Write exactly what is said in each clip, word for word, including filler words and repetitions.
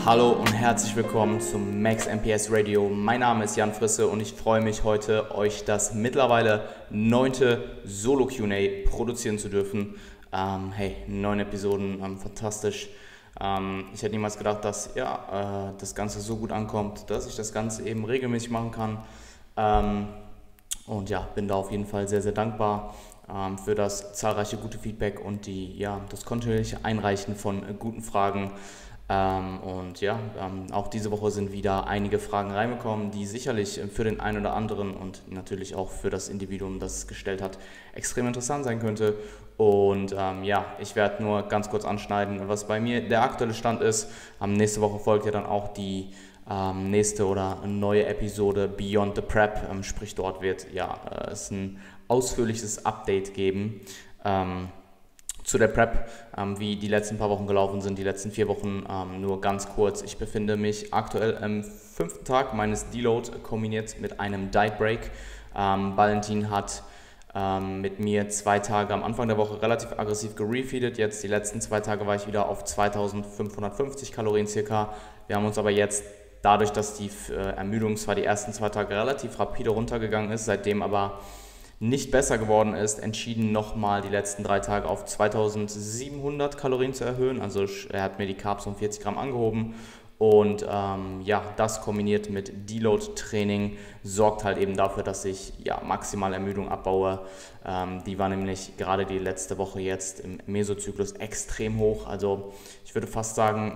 Hallo und herzlich willkommen zum Max M P S Radio. Mein Name ist Jan Frisse und ich freue mich heute, euch das mittlerweile neunte Solo-Q und A produzieren zu dürfen. Ähm, hey, neun Episoden, ähm, fantastisch. Ähm, ich hätte niemals gedacht, dass ja, äh, das Ganze so gut ankommt, dass ich das Ganze eben regelmäßig machen kann. Ähm, und ja, bin da auf jeden Fall sehr, sehr dankbar ähm, für das zahlreiche gute Feedback und die, ja, das kontinuierliche Einreichen von äh, guten Fragen. Ähm, und ja, ähm, auch diese Woche sind wieder einige Fragen reingekommen, die sicherlich äh, für den einen oder anderen und natürlich auch für das Individuum, das es gestellt hat, extrem interessant sein könnte. Und ähm, ja, ich werde nur ganz kurz anschneiden, was bei mir der aktuelle Stand ist. Ähm, nächste Woche folgt ja dann auch die ähm, nächste oder neue Episode Beyond the Prep, ähm, sprich dort wird ja äh, es ein ausführliches Update geben. Ähm, Zu der Prep, ähm, wie die letzten paar Wochen gelaufen sind, die letzten vier Wochen, ähm, nur ganz kurz. Ich befinde mich aktuell am fünften Tag meines Deload kombiniert mit einem Diet Break. Ähm, Valentin hat ähm, mit mir zwei Tage am Anfang der Woche relativ aggressiv gerefeedet. Jetzt die letzten zwei Tage war ich wieder auf zweitausendfünfhundertfünfzig Kalorien circa. Wir haben uns aber jetzt dadurch, dass die äh, Ermüdung zwar die ersten zwei Tage relativ rapide runtergegangen ist, seitdem aber nicht besser geworden ist, entschieden nochmal die letzten drei Tage auf zweitausendsiebenhundert Kalorien zu erhöhen. Also er hat mir die Carbs um vierzig Gramm angehoben und ähm, ja, das kombiniert mit Deload-Training sorgt halt eben dafür, dass ich ja, maximal Ermüdung abbaue. Ähm, die war nämlich gerade die letzte Woche jetzt im Mesozyklus extrem hoch. Also ich würde fast sagen,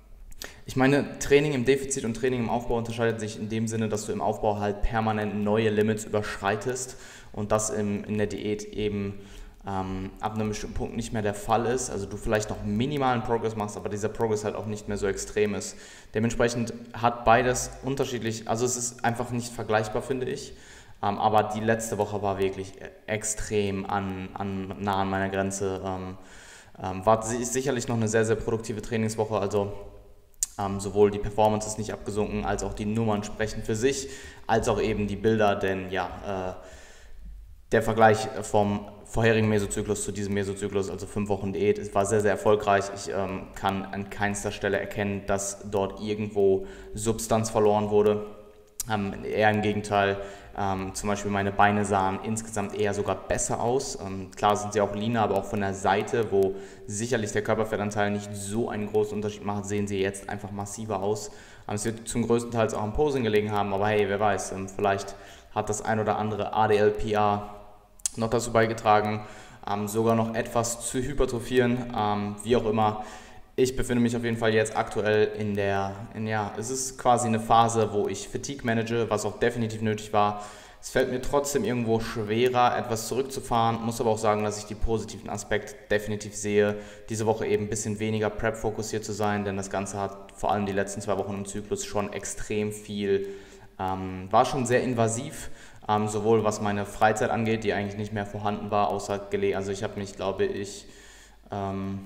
ich meine, Training im Defizit und Training im Aufbau unterscheidet sich in dem Sinne, dass du im Aufbau halt permanent neue Limits überschreitest und das im, in der Diät eben ähm, ab einem bestimmten Punkt nicht mehr der Fall ist. Also du vielleicht noch minimalen Progress machst, aber dieser Progress halt auch nicht mehr so extrem ist. Dementsprechend hat beides unterschiedlich, also es ist einfach nicht vergleichbar, finde ich. Ähm, aber die letzte Woche war wirklich extrem an, an, nah an meiner Grenze. Ähm, ähm, war sicherlich noch eine sehr, sehr produktive Trainingswoche, also Ähm, sowohl die Performance ist nicht abgesunken, als auch die Nummern sprechen für sich, als auch eben die Bilder, denn ja, äh, der Vergleich vom vorherigen Mesozyklus zu diesem Mesozyklus, also fünf Wochen Diät, es war sehr, sehr erfolgreich. Ich ähm, kann an keinster Stelle erkennen, dass dort irgendwo Substanz verloren wurde. Ähm, eher im Gegenteil, ähm, zum Beispiel meine Beine sahen insgesamt eher sogar besser aus. Ähm, klar sind sie auch leaner, aber auch von der Seite, wo sicherlich der Körperfettanteil nicht so einen großen Unterschied macht, sehen sie jetzt einfach massiver aus. Ähm, es wird zum größten Teil auch am Posing gelegen haben, aber hey, wer weiß, ähm, vielleicht hat das ein oder andere A D L P A noch dazu beigetragen, ähm, sogar noch etwas zu hypertrophieren, ähm, wie auch immer. Ich befinde mich auf jeden Fall jetzt aktuell in der, in, ja, es ist quasi eine Phase, wo ich Fatigue manage, was auch definitiv nötig war. Es fällt mir trotzdem irgendwo schwerer, etwas zurückzufahren, muss aber auch sagen, dass ich die positiven Aspekte definitiv sehe. Diese Woche eben ein bisschen weniger Prep-fokussiert zu sein, denn das Ganze hat vor allem die letzten zwei Wochen im Zyklus schon extrem viel, ähm, war schon sehr invasiv, ähm, sowohl was meine Freizeit angeht, die eigentlich nicht mehr vorhanden war, außer gelegen. Also ich habe mich, glaube ich, ähm,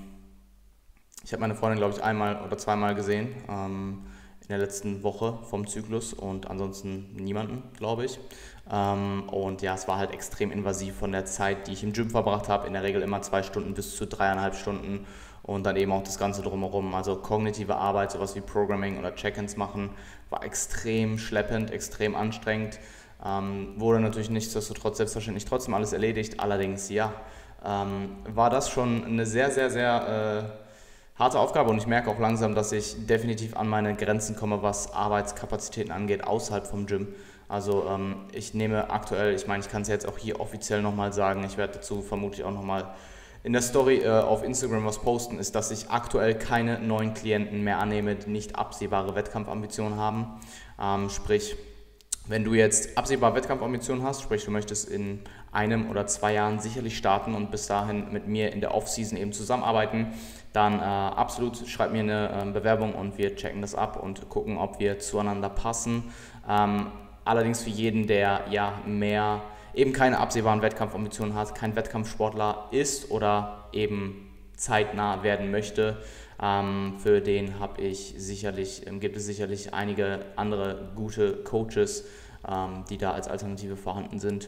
Ich habe meine Freundin, glaube ich, einmal oder zweimal gesehen ähm, in der letzten Woche vom Zyklus und ansonsten niemanden, glaube ich. Ähm, und ja, es war halt extrem invasiv von der Zeit, die ich im Gym verbracht habe. In der Regel immer zwei Stunden bis zu dreieinhalb Stunden und dann eben auch das Ganze drumherum. Also kognitive Arbeit, sowas wie Programming oder Check-ins machen, war extrem schleppend, extrem anstrengend. Ähm, wurde natürlich nichtsdestotrotz selbstverständlich trotzdem alles erledigt. Allerdings, ja, ähm, war das schon eine sehr, sehr, sehr... Äh, harte Aufgabe und ich merke auch langsam, dass ich definitiv an meine Grenzen komme, was Arbeitskapazitäten angeht, außerhalb vom Gym. Also ähm, ich nehme aktuell, ich meine, ich kann es jetzt auch hier offiziell nochmal sagen, ich werde dazu vermutlich auch nochmal in der Story äh, auf Instagram was posten, ist, dass ich aktuell keine neuen Klienten mehr annehme, die nicht absehbare Wettkampfambitionen haben. Ähm, sprich, wenn du jetzt absehbar Wettkampfambitionen hast, sprich du möchtest in einem oder zwei Jahren sicherlich starten und bis dahin mit mir in der Off-Season eben zusammenarbeiten, dann äh, absolut schreib mir eine äh, Bewerbung und wir checken das ab und gucken, ob wir zueinander passen. Ähm, allerdings für jeden, der ja mehr, eben keine absehbaren Wettkampfambitionen hat, kein Wettkampfsportler ist oder eben zeitnah werden möchte, ähm, für den habe ich sicherlich, ähm, gibt es sicherlich einige andere gute Coaches, ähm, die da als Alternative vorhanden sind.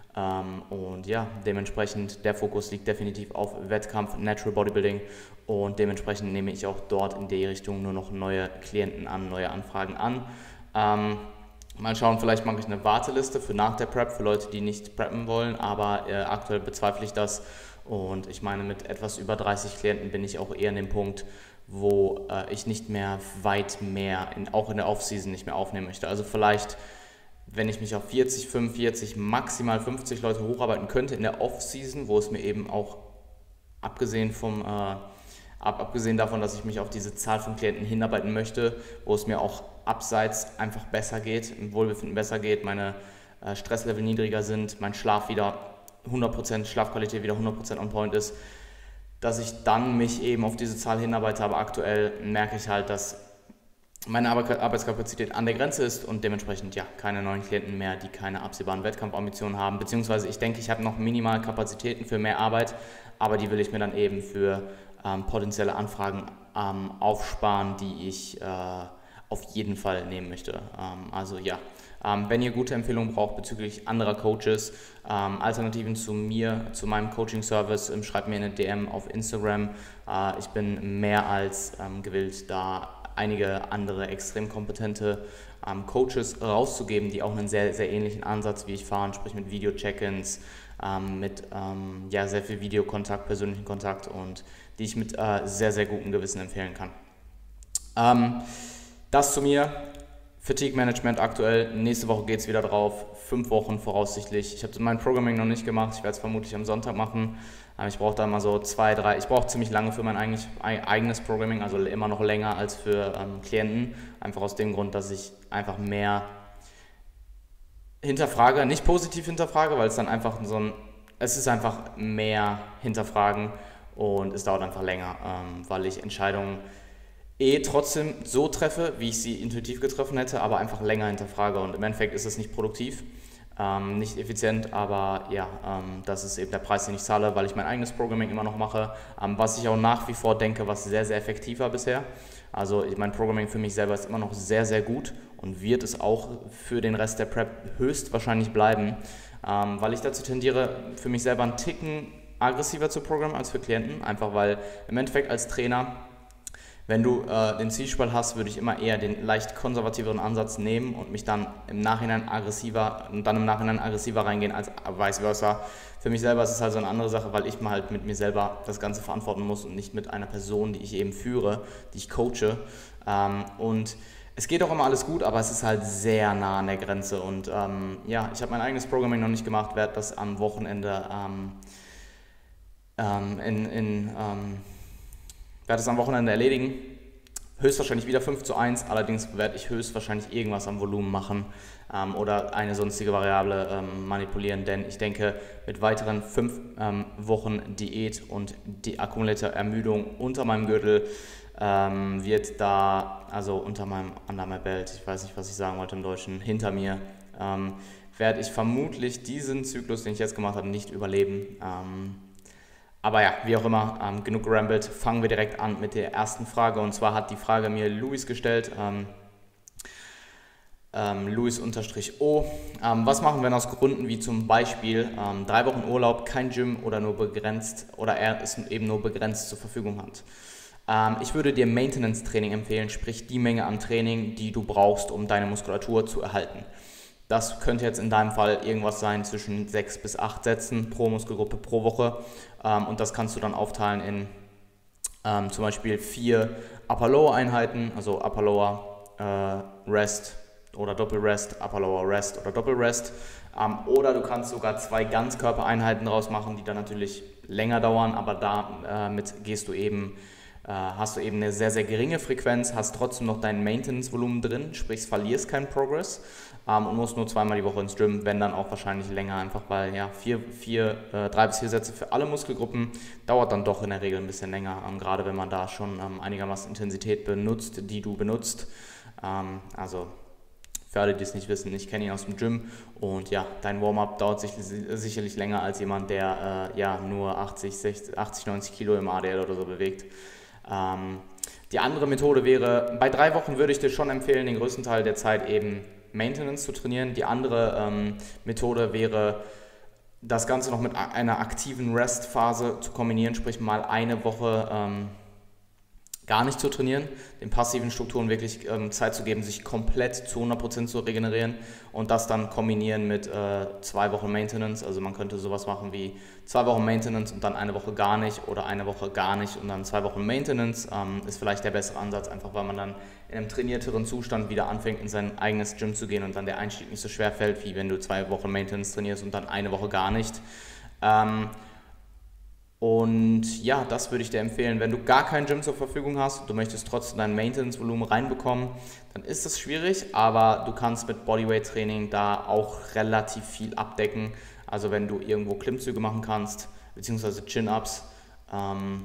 Ähm, und ja, dementsprechend, der Fokus liegt definitiv auf Wettkampf, Natural Bodybuilding und dementsprechend nehme ich auch dort in die Richtung nur noch neue Klienten an, neue Anfragen an. Ähm, mal schauen, vielleicht mache ich eine Warteliste für nach der Prep, für Leute, die nicht preppen wollen, aber äh, aktuell bezweifle ich das und ich meine, mit etwas über dreißig Klienten bin ich auch eher an dem Punkt, wo äh, ich nicht mehr weit mehr, in, auch in der Off-Season nicht mehr aufnehmen möchte. Also vielleicht, wenn ich mich auf vierzig, fünfundvierzig, maximal fünfzig Leute hocharbeiten könnte in der Off-Season, wo es mir eben auch abgesehen vom, äh, ab, abgesehen davon, dass ich mich auf diese Zahl von Klienten hinarbeiten möchte, wo es mir auch abseits einfach besser geht, im Wohlbefinden besser geht, meine äh, Stresslevel niedriger sind, mein Schlaf wieder hundert Prozent, Schlafqualität wieder hundert Prozent on point ist, dass ich dann mich eben auf diese Zahl hinarbeite, aber aktuell merke ich halt, dass meine Arbeitskapazität an der Grenze ist und dementsprechend ja keine neuen Klienten mehr, die keine absehbaren Wettkampfambitionen haben, beziehungsweise ich denke, ich habe noch minimal Kapazitäten für mehr Arbeit, aber die will ich mir dann eben für ähm, potenzielle Anfragen ähm, aufsparen, die ich äh, auf jeden Fall nehmen möchte. Ähm, also ja, ähm, wenn ihr gute Empfehlungen braucht bezüglich anderer Coaches, ähm, Alternativen zu mir, zu meinem Coaching-Service, ähm, schreibt mir eine D M auf Instagram. Äh, ich bin mehr als ähm, gewillt, da einige andere extrem kompetente ähm, Coaches rauszugeben, die auch einen sehr, sehr ähnlichen Ansatz wie ich fahren, sprich mit Video-Check-ins, ähm, mit ähm, ja, sehr viel Videokontakt, persönlichen Kontakt und die ich mit äh, sehr, sehr gutem Gewissen empfehlen kann. Ähm, das zu mir. Fatigue Management aktuell, nächste Woche geht es wieder drauf, fünf Wochen voraussichtlich. Ich habe mein Programming noch nicht gemacht, ich werde es vermutlich am Sonntag machen. Ich brauche da mal so zwei, drei, ich brauche ziemlich lange für mein eigenes Programming, also immer noch länger als für ähm, Klienten. Einfach aus dem Grund, dass ich einfach mehr hinterfrage, nicht positiv hinterfrage, weil es dann einfach so ein, es ist einfach mehr hinterfragen und es dauert einfach länger, ähm, weil ich Entscheidungen eh trotzdem so treffe, wie ich sie intuitiv getroffen hätte, aber einfach länger hinterfrage und im Endeffekt ist es nicht produktiv, ähm, nicht effizient, aber ja, ähm, das ist eben der Preis, den ich zahle, weil ich mein eigenes Programming immer noch mache, ähm, was ich auch nach wie vor denke, was sehr, sehr effektiv war bisher. Also mein Programming für mich selber ist immer noch sehr, sehr gut und wird es auch für den Rest der Prep höchstwahrscheinlich bleiben, ähm, weil ich dazu tendiere, für mich selber einen Ticken aggressiver zu programmen als für Klienten, einfach weil im Endeffekt als Trainer, wenn du äh, den Zwiespalt hast, würde ich immer eher den leicht konservativeren Ansatz nehmen und mich dann im Nachhinein aggressiver und dann im Nachhinein aggressiver reingehen als vice versa. Für mich selber ist es halt so eine andere Sache, weil ich mal halt mit mir selber das Ganze verantworten muss und nicht mit einer Person, die ich eben führe, die ich coache. Ähm, und es geht auch immer alles gut, aber es ist halt sehr nah an der Grenze. Und ähm, ja, ich habe mein eigenes Programming noch nicht gemacht, werde das am Wochenende ähm, ähm, in, in ähm, werde es am Wochenende erledigen, höchstwahrscheinlich wieder fünf zu eins, allerdings werde ich höchstwahrscheinlich irgendwas am Volumen machen ähm, oder eine sonstige Variable ähm, manipulieren, denn ich denke, mit weiteren fünf ähm, Wochen Diät und die akkumulierte Ermüdung unter meinem Gürtel ähm, wird da, also unter meinem, under my belt, ich weiß nicht, was ich sagen wollte im Deutschen, hinter mir, ähm, werde ich vermutlich diesen Zyklus, den ich jetzt gemacht habe, nicht überleben. Ähm, Aber ja, wie auch immer, ähm, genug gerambelt, fangen wir direkt an mit der ersten Frage. Und zwar hat die Frage mir Luis gestellt, ähm, ähm, Luis-O. Ähm, was machen, wenn aus Gründen wie zum Beispiel ähm, drei Wochen Urlaub, kein Gym oder nur begrenzt oder er es eben nur begrenzt zur Verfügung hat? Ähm, ich würde dir Maintenance-Training empfehlen, sprich die Menge an Training, die du brauchst, um deine Muskulatur zu erhalten. Das könnte jetzt in deinem Fall irgendwas sein zwischen sechs bis acht Sätzen pro Muskelgruppe pro Woche ähm, und das kannst du dann aufteilen in ähm, zum Beispiel vier Upper-Lower-Einheiten, also Upper-Lower äh, Rest oder Doppel-Rest, Upper-Lower Rest oder Doppel-Rest ähm, oder du kannst sogar zwei Ganzkörpereinheiten daraus machen, die dann natürlich länger dauern, aber damit äh, gehst du eben hast du eben eine sehr, sehr geringe Frequenz, hast trotzdem noch dein Maintenance-Volumen drin, sprich verlierst keinen Progress ähm, und musst nur zweimal die Woche ins Gym, wenn dann auch wahrscheinlich länger, einfach weil ja vier, vier, äh, drei bis vier Sätze für alle Muskelgruppen dauert dann doch in der Regel ein bisschen länger, ähm, gerade wenn man da schon ähm, einigermaßen Intensität benutzt, die du benutzt. Ähm, also für alle, die es nicht wissen, ich kenne ihn aus dem Gym und ja, dein Warm-up dauert sich, sicherlich länger als jemand, der äh, ja nur achtzig, sechzig, achtzig, neunzig Kilo im A D L oder so bewegt. Ähm, die andere Methode wäre, bei drei Wochen würde ich dir schon empfehlen, den größten Teil der Zeit eben Maintenance zu trainieren. Die andere ähm, Methode wäre das Ganze noch mit einer aktiven Rest-Phase zu kombinieren, sprich mal eine Woche ähm, gar nicht zu trainieren, den passiven Strukturen wirklich ähm, Zeit zu geben, sich komplett zu hundert Prozent zu regenerieren und das dann kombinieren mit äh, zwei Wochen Maintenance. Also man könnte sowas machen wie zwei Wochen Maintenance und dann eine Woche gar nicht oder eine Woche gar nicht und dann zwei Wochen Maintenance. Ähm, ist vielleicht der bessere Ansatz, einfach weil man dann in einem trainierteren Zustand wieder anfängt, in sein eigenes Gym zu gehen und dann der Einstieg nicht so schwer fällt, wie wenn du zwei Wochen Maintenance trainierst und dann eine Woche gar nicht. Ähm, Und ja, das würde ich dir empfehlen. Wenn du gar kein Gym zur Verfügung hast und du möchtest trotzdem dein Maintenance-Volumen reinbekommen, dann ist das schwierig, aber du kannst mit Bodyweight-Training da auch relativ viel abdecken. Also wenn du irgendwo Klimmzüge machen kannst, beziehungsweise Chin-Ups ähm,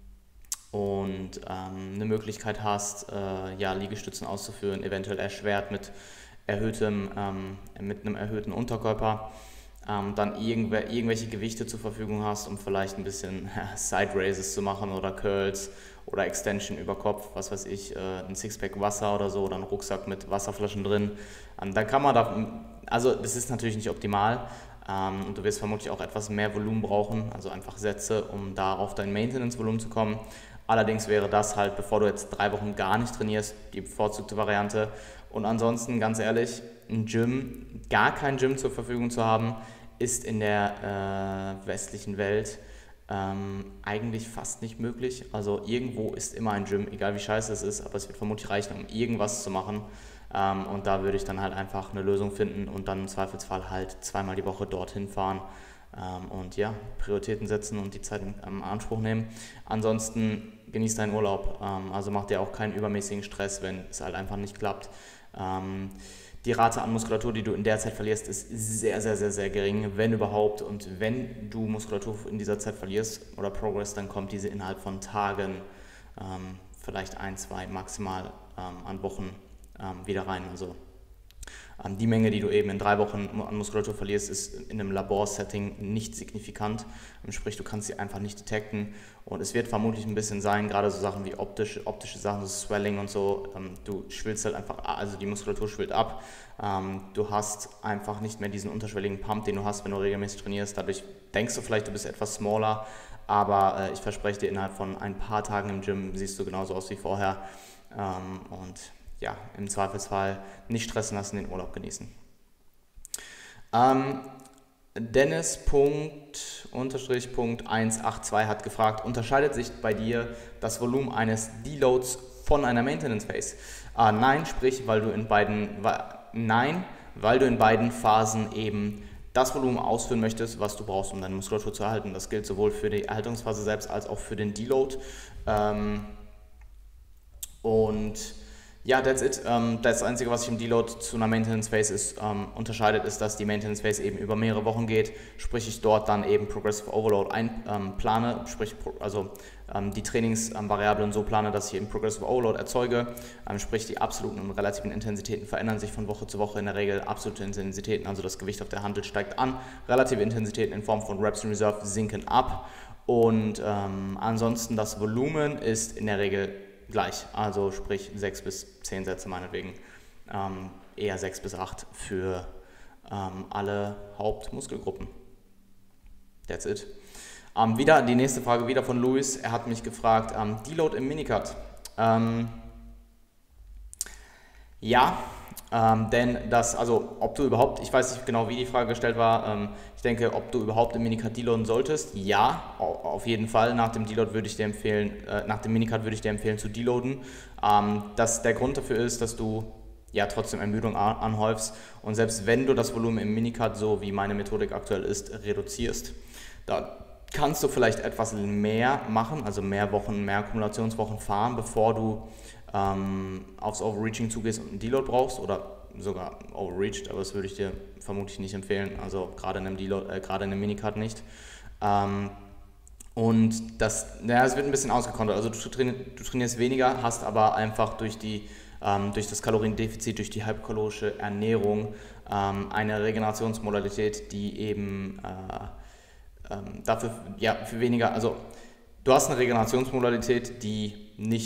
und ähm, eine Möglichkeit hast, äh, ja, Liegestützen auszuführen, eventuell erschwert mit, erhöhtem, ähm, mit einem erhöhten Unterkörper. Ähm, dann irgendw- irgendwelche Gewichte zur Verfügung hast, um vielleicht ein bisschen ja, Side Raises zu machen oder Curls oder Extension über Kopf, was weiß ich, äh, ein Sixpack Wasser oder so oder einen Rucksack mit Wasserflaschen drin. Ähm, dann kann man da, also das ist natürlich nicht optimal ähm, und du wirst vermutlich auch etwas mehr Volumen brauchen, also einfach Sätze, um da auf dein Maintenance-Volumen zu kommen. Allerdings wäre das halt, bevor du jetzt drei Wochen gar nicht trainierst, die bevorzugte Variante. Und ansonsten, ganz ehrlich, ein Gym, gar kein Gym zur Verfügung zu haben, ist in der äh, westlichen Welt ähm, eigentlich fast nicht möglich. Also irgendwo ist immer ein Gym, egal wie scheiße es ist, aber es wird vermutlich reichen, um irgendwas zu machen. Ähm, und da würde ich dann halt einfach eine Lösung finden und dann im Zweifelsfall halt zweimal die Woche dorthin fahren. Ähm, und ja, Prioritäten setzen und die Zeit in ähm, Anspruch nehmen. Ansonsten genieß deinen Urlaub, ähm, also mach dir auch keinen übermäßigen Stress, wenn es halt einfach nicht klappt. Ähm, die Rate an Muskulatur, die du in der Zeit verlierst, ist sehr, sehr, sehr, sehr gering, wenn überhaupt. Und wenn du Muskulatur in dieser Zeit verlierst oder Progress, dann kommt diese innerhalb von Tagen, ähm, vielleicht ein, zwei maximal ähm, an Wochen ähm, wieder rein. Also ähm, die Menge, die du eben in drei Wochen an Muskulatur verlierst, ist in einem Laborsetting nicht signifikant. Sprich, du kannst sie einfach nicht detekten. Und es wird vermutlich ein bisschen sein, gerade so Sachen wie optische, optische Sachen, so Swelling und so. Ähm, du schwillst halt einfach, also die Muskulatur schwillt ab. Ähm, du hast einfach nicht mehr diesen unterschwelligen Pump, den du hast, wenn du regelmäßig trainierst. Dadurch denkst du vielleicht, du bist etwas smaller, aber äh, ich verspreche dir, innerhalb von ein paar Tagen im Gym siehst du genauso aus wie vorher. Ähm, und ja, im Zweifelsfall nicht stressen lassen, den Urlaub genießen. Ähm, Dennis Punkt, Unterstrich Punkt eins acht zwei hat gefragt, unterscheidet sich bei dir das Volumen eines Deloads von einer Maintenance Phase? Äh, nein, sprich, weil du in beiden, weil, nein, weil du in beiden Phasen eben das Volumen ausführen möchtest, was du brauchst, um deine Muskulatur zu erhalten. Das gilt sowohl für die Erhaltungsphase selbst als auch für den Deload. Ähm, und ja, that's it. Ähm, das Einzige, was sich im Deload zu einer Maintenance Phase ist, ähm, unterscheidet, ist, dass die Maintenance Phase eben über mehrere Wochen geht, sprich ich dort dann eben Progressive Overload einplane, ähm, sprich also ähm, die Trainingsvariablen so plane, dass ich eben Progressive Overload erzeuge, ähm, sprich die absoluten und relativen Intensitäten verändern sich von Woche zu Woche in der Regel. Absolute Intensitäten, also das Gewicht auf der Hantel steigt an, relative Intensitäten in Form von Reps in Reserve sinken ab und ähm, ansonsten das Volumen ist in der Regel gleich, also sprich sechs bis zehn Sätze meinetwegen, ähm, eher sechs bis acht für ähm, alle Hauptmuskelgruppen. That's it. Ähm, wieder die nächste Frage, wieder von Luis, er hat mich gefragt, ähm, Deload im Minicut. Ähm, ja, ähm, denn das, also ob du überhaupt, ich weiß nicht genau, wie die Frage gestellt war, ähm, ich denke, ob du überhaupt im Minicut deloaden solltest, ja, auf jeden Fall, nach dem Deload würde ich dir empfehlen, äh, nach dem Minicut würde ich dir empfehlen zu deloaden. Ähm, das, der Grund dafür ist, dass du ja trotzdem Ermüdung anhäufst und selbst wenn du das Volumen im Minicut, so wie meine Methodik aktuell ist, reduzierst, da kannst du vielleicht etwas mehr machen, also mehr Wochen, mehr Akkumulationswochen fahren, bevor du ähm, aufs Overreaching zugehst und einen Deload brauchst oder sogar overreached, aber das würde ich dir vermutlich nicht empfehlen, also gerade in einem Deload, äh, gerade in einem Minicut nicht. Ähm, und das, naja, es wird ein bisschen ausgekontert, also du, traini- du trainierst weniger, hast aber einfach durch die ähm, durch das Kaloriendefizit, durch die hypokalorische Ernährung ähm, eine Regenerationsmodalität, die eben äh, ähm, dafür ja, für weniger, also du hast eine Regenerationsmodalität, die nicht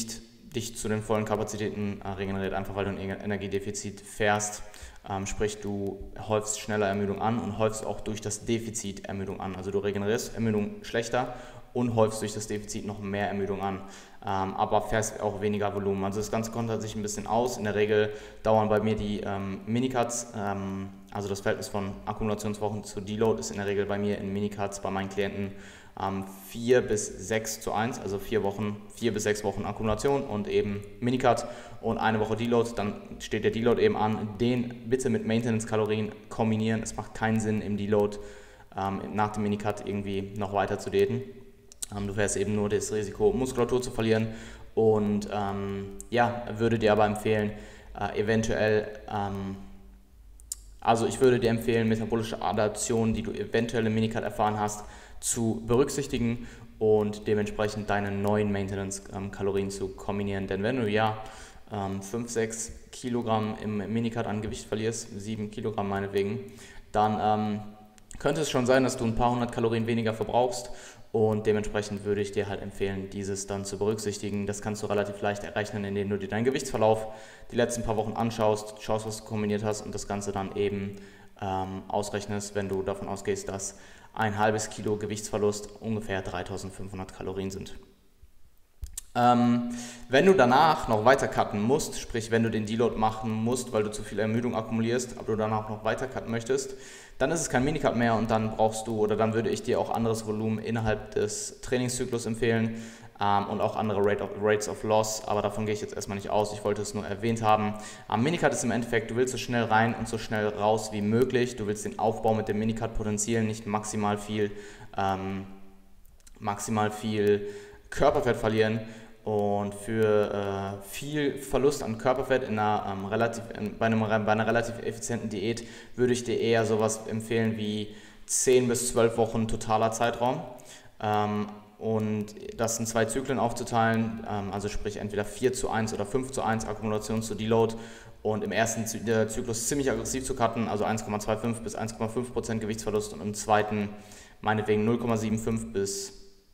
dich zu den vollen Kapazitäten äh, regeneriert, einfach weil du ein Energiedefizit fährst. Ähm, sprich, du häufst schneller Ermüdung an und häufst auch durch das Defizit Ermüdung an. Also du regenerierst Ermüdung schlechter und häufst durch das Defizit noch mehr Ermüdung an, ähm, aber fährst auch weniger Volumen. Also das Ganze kontert sich ein bisschen aus. In der Regel dauern bei mir die ähm, Minicuts, ähm, also das Verhältnis von Akkumulationswochen zu Deload ist in der Regel bei mir in Minicuts bei meinen Klienten ähm, vier bis sechs zu eins, also vier Wochen, vier bis sechs Wochen Akkumulation und eben Minicut und eine Woche Deload, dann steht der Deload eben an. Den bitte mit Maintenance-Kalorien kombinieren. Es macht keinen Sinn im Deload ähm, nach dem Minicut irgendwie noch weiter zu daten. Du fährst eben nur das Risiko, Muskulatur zu verlieren und ähm, ja, würde dir aber empfehlen, äh, eventuell, ähm, also ich würde dir empfehlen, metabolische Adaptionen, die du eventuell im Minicut erfahren hast, zu berücksichtigen und dementsprechend deine neuen Maintenance-Kalorien zu kombinieren. Denn wenn du ja ähm, fünf, sechs Kilogramm im Minicut an Gewicht verlierst, sieben Kilogramm meinetwegen, dann ähm, könnte es schon sein, dass du ein paar hundert Kalorien weniger verbrauchst. Und dementsprechend würde ich dir halt empfehlen, dieses dann zu berücksichtigen. Das kannst du relativ leicht errechnen, indem du dir deinen Gewichtsverlauf die letzten paar Wochen anschaust, schaust, was du kombiniert hast und das Ganze dann eben ähm, ausrechnest, wenn du davon ausgehst, dass ein halbes Kilo Gewichtsverlust ungefähr dreitausendfünfhundert Kalorien sind. Ähm, wenn du danach noch weiter cutten musst, sprich wenn du den Deload machen musst, weil du zu viel Ermüdung akkumulierst, aber du danach noch weiter cutten möchtest, dann ist es kein Minicut mehr und dann brauchst du oder dann würde ich dir auch anderes Volumen innerhalb des Trainingszyklus empfehlen ähm, und auch andere Rate of, Rates of Loss, aber davon gehe ich jetzt erstmal nicht aus, ich wollte es nur erwähnt haben. Am Minicut ist im Endeffekt, du willst so schnell rein und so schnell raus wie möglich, du willst den Aufbau mit dem Minicut potenzieren, nicht maximal viel, ähm, maximal viel Körperfett verlieren. Und für äh, viel Verlust an Körperfett in einer, ähm, relativ, in, bei, einem, bei einer relativ effizienten Diät würde ich dir eher sowas empfehlen wie zehn bis zwölf Wochen totaler Zeitraum. Ähm, und das in zwei Zyklen aufzuteilen, ähm, also sprich entweder vier zu eins oder fünf zu eins Akkumulation zu Deload und im ersten Zyklus ziemlich aggressiv zu cutten, also eins Komma fünfundzwanzig bis eins Komma fünf Prozent Gewichtsverlust und im zweiten meinetwegen null Komma fünfundsiebzig bis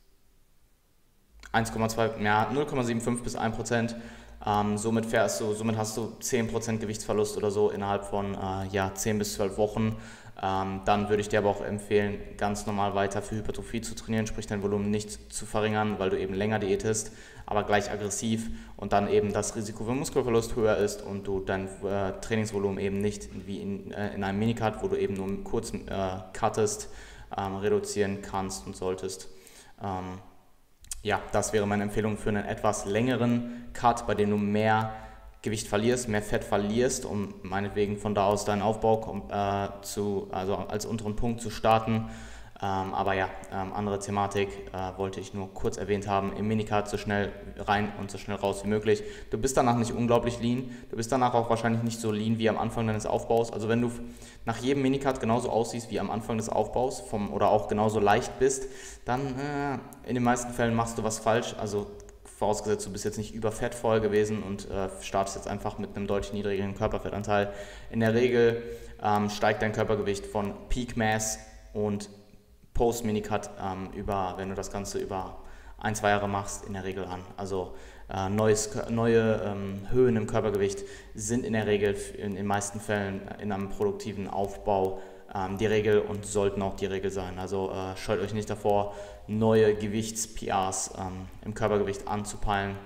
eins Komma zwei, ja, null Komma fünfundsiebzig bis ein Prozent. Ähm, somit, fährst du, somit hast du zehn Prozent Gewichtsverlust oder so innerhalb von äh, ja, zehn bis zwölf Wochen. Ähm, dann würde ich dir aber auch empfehlen, ganz normal weiter für Hypertrophie zu trainieren, sprich dein Volumen nicht zu verringern, weil du eben länger diätest, aber gleich aggressiv und dann eben das Risiko für Muskelverlust höher ist und du dein äh, Trainingsvolumen eben nicht wie in, äh, in einem Minicut, wo du eben nur kurz äh, cuttest, ähm, reduzieren kannst und solltest. Ähm, Ja, das wäre meine Empfehlung für einen etwas längeren Cut, bei dem du mehr Gewicht verlierst, mehr Fett verlierst, um meinetwegen von da aus deinen Aufbau äh, zu, also als unteren Punkt zu starten. Ähm, aber ja, ähm, andere Thematik äh, wollte ich nur kurz erwähnt haben. Im Minicut so schnell rein und so schnell raus wie möglich. Du bist danach nicht unglaublich lean. Du bist danach auch wahrscheinlich nicht so lean wie am Anfang deines Aufbaus. Also wenn du nach jedem Minicut genauso aussiehst wie am Anfang des Aufbaus vom, oder auch genauso leicht bist, dann äh, in den meisten Fällen machst du was falsch. Also vorausgesetzt, du bist jetzt nicht überfettvoll gewesen und äh, startest jetzt einfach mit einem deutlich niedrigeren Körperfettanteil. In der Regel ähm, steigt dein Körpergewicht von Peak Mass und Post-Minicut ähm, über, wenn du das Ganze über ein, zwei Jahre machst, in der Regel an. Also äh, neues, neue ähm, Höhen im Körpergewicht sind in der Regel in den meisten Fällen in einem produktiven Aufbau ähm, die Regel und sollten auch die Regel sein. Also äh, scheut euch nicht davor, neue Gewichts-P Rs ähm, im Körpergewicht anzupeilen.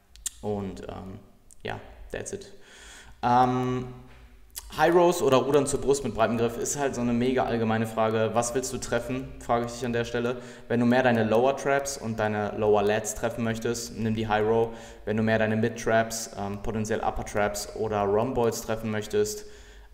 Und ähm, ja, that's it. Ähm, High Rows oder Rudern zur Brust mit breitem Griff ist halt so eine mega allgemeine Frage. Was willst du treffen, frage ich dich an der Stelle. Wenn du mehr deine Lower Traps und deine Lower Lats treffen möchtest, nimm die High Row. Wenn du mehr deine Mid Traps, ähm, potenziell Upper Traps oder Rhomboids treffen möchtest,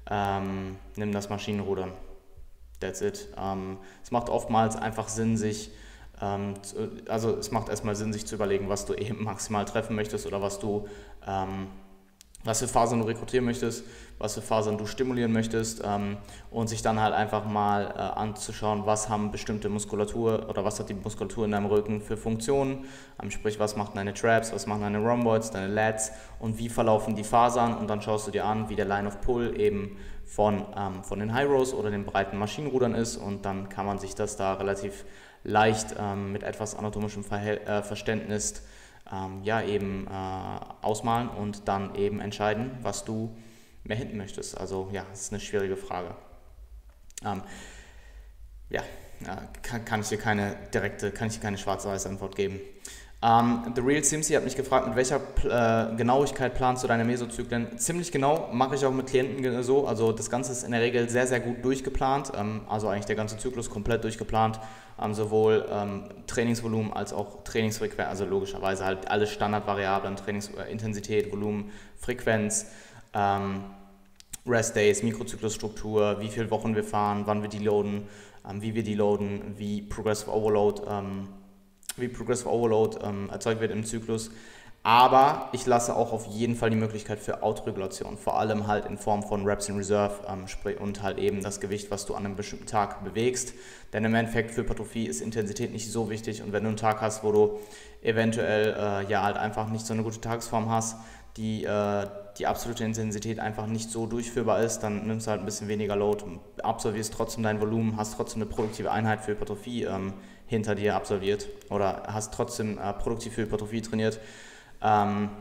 ähm, nimm das Maschinenrudern. That's it. Ähm, es macht oftmals einfach Sinn, sich, ähm, zu, also es macht erstmal Sinn, sich zu überlegen, was du eben maximal treffen möchtest oder was du ähm, was für Fasern du rekrutieren möchtest, was für Fasern du stimulieren möchtest ähm, und sich dann halt einfach mal äh, anzuschauen, was haben bestimmte Muskulatur oder was hat die Muskulatur in deinem Rücken für Funktionen, ähm, sprich was machen deine Traps, was machen deine Rhomboids, deine Lats und wie verlaufen die Fasern und dann schaust du dir an, wie der Line of Pull eben von, ähm, von den High Rows oder den breiten Maschinenrudern ist und dann kann man sich das da relativ leicht ähm, mit etwas anatomischem Verhält, äh, Verständnis ähm, ja eben äh, ausmalen und dann eben entscheiden, was du mehr hinten möchtest. Also ja, das ist eine schwierige Frage. Ähm, ja, ja kann, kann ich dir keine direkte, kann ich dir keine schwarz-weiß Antwort geben. Um, The Real Simsi hat mich gefragt, mit welcher äh, Genauigkeit planst du deine Mesozyklen? Ziemlich genau, mache ich auch mit Klienten so. Also das Ganze ist in der Regel sehr, sehr gut durchgeplant. Ähm, also eigentlich der ganze Zyklus komplett durchgeplant. Ähm, sowohl ähm, Trainingsvolumen als auch Trainingsfrequenz. Also logischerweise halt alle Standardvariablen, Trainingsintensität, Volumen, Frequenz, ähm, Rest Days, Mikrozyklusstruktur, wie viele Wochen wir fahren, wann wir deloaden, ähm, wie wir deloaden, wie Progressive Overload ähm, wie Progressive Overload ähm, erzeugt wird im Zyklus. Aber ich lasse auch auf jeden Fall die Möglichkeit für Autoregulation, vor allem halt in Form von Reps in Reserve ähm, und halt eben das Gewicht, was du an einem bestimmten Tag bewegst. Denn im Endeffekt für Hypertrophie ist Intensität nicht so wichtig, und wenn du einen Tag hast, wo du eventuell äh, ja halt einfach nicht so eine gute Tagesform hast, die, äh, die absolute Intensität einfach nicht so durchführbar ist, dann nimmst du halt ein bisschen weniger Load, absolvierst trotzdem dein Volumen, hast trotzdem eine produktive Einheit für Hypertrophie ähm, hinter dir absolviert oder hast trotzdem äh, produktiv für Hypertrophie trainiert. Ähm,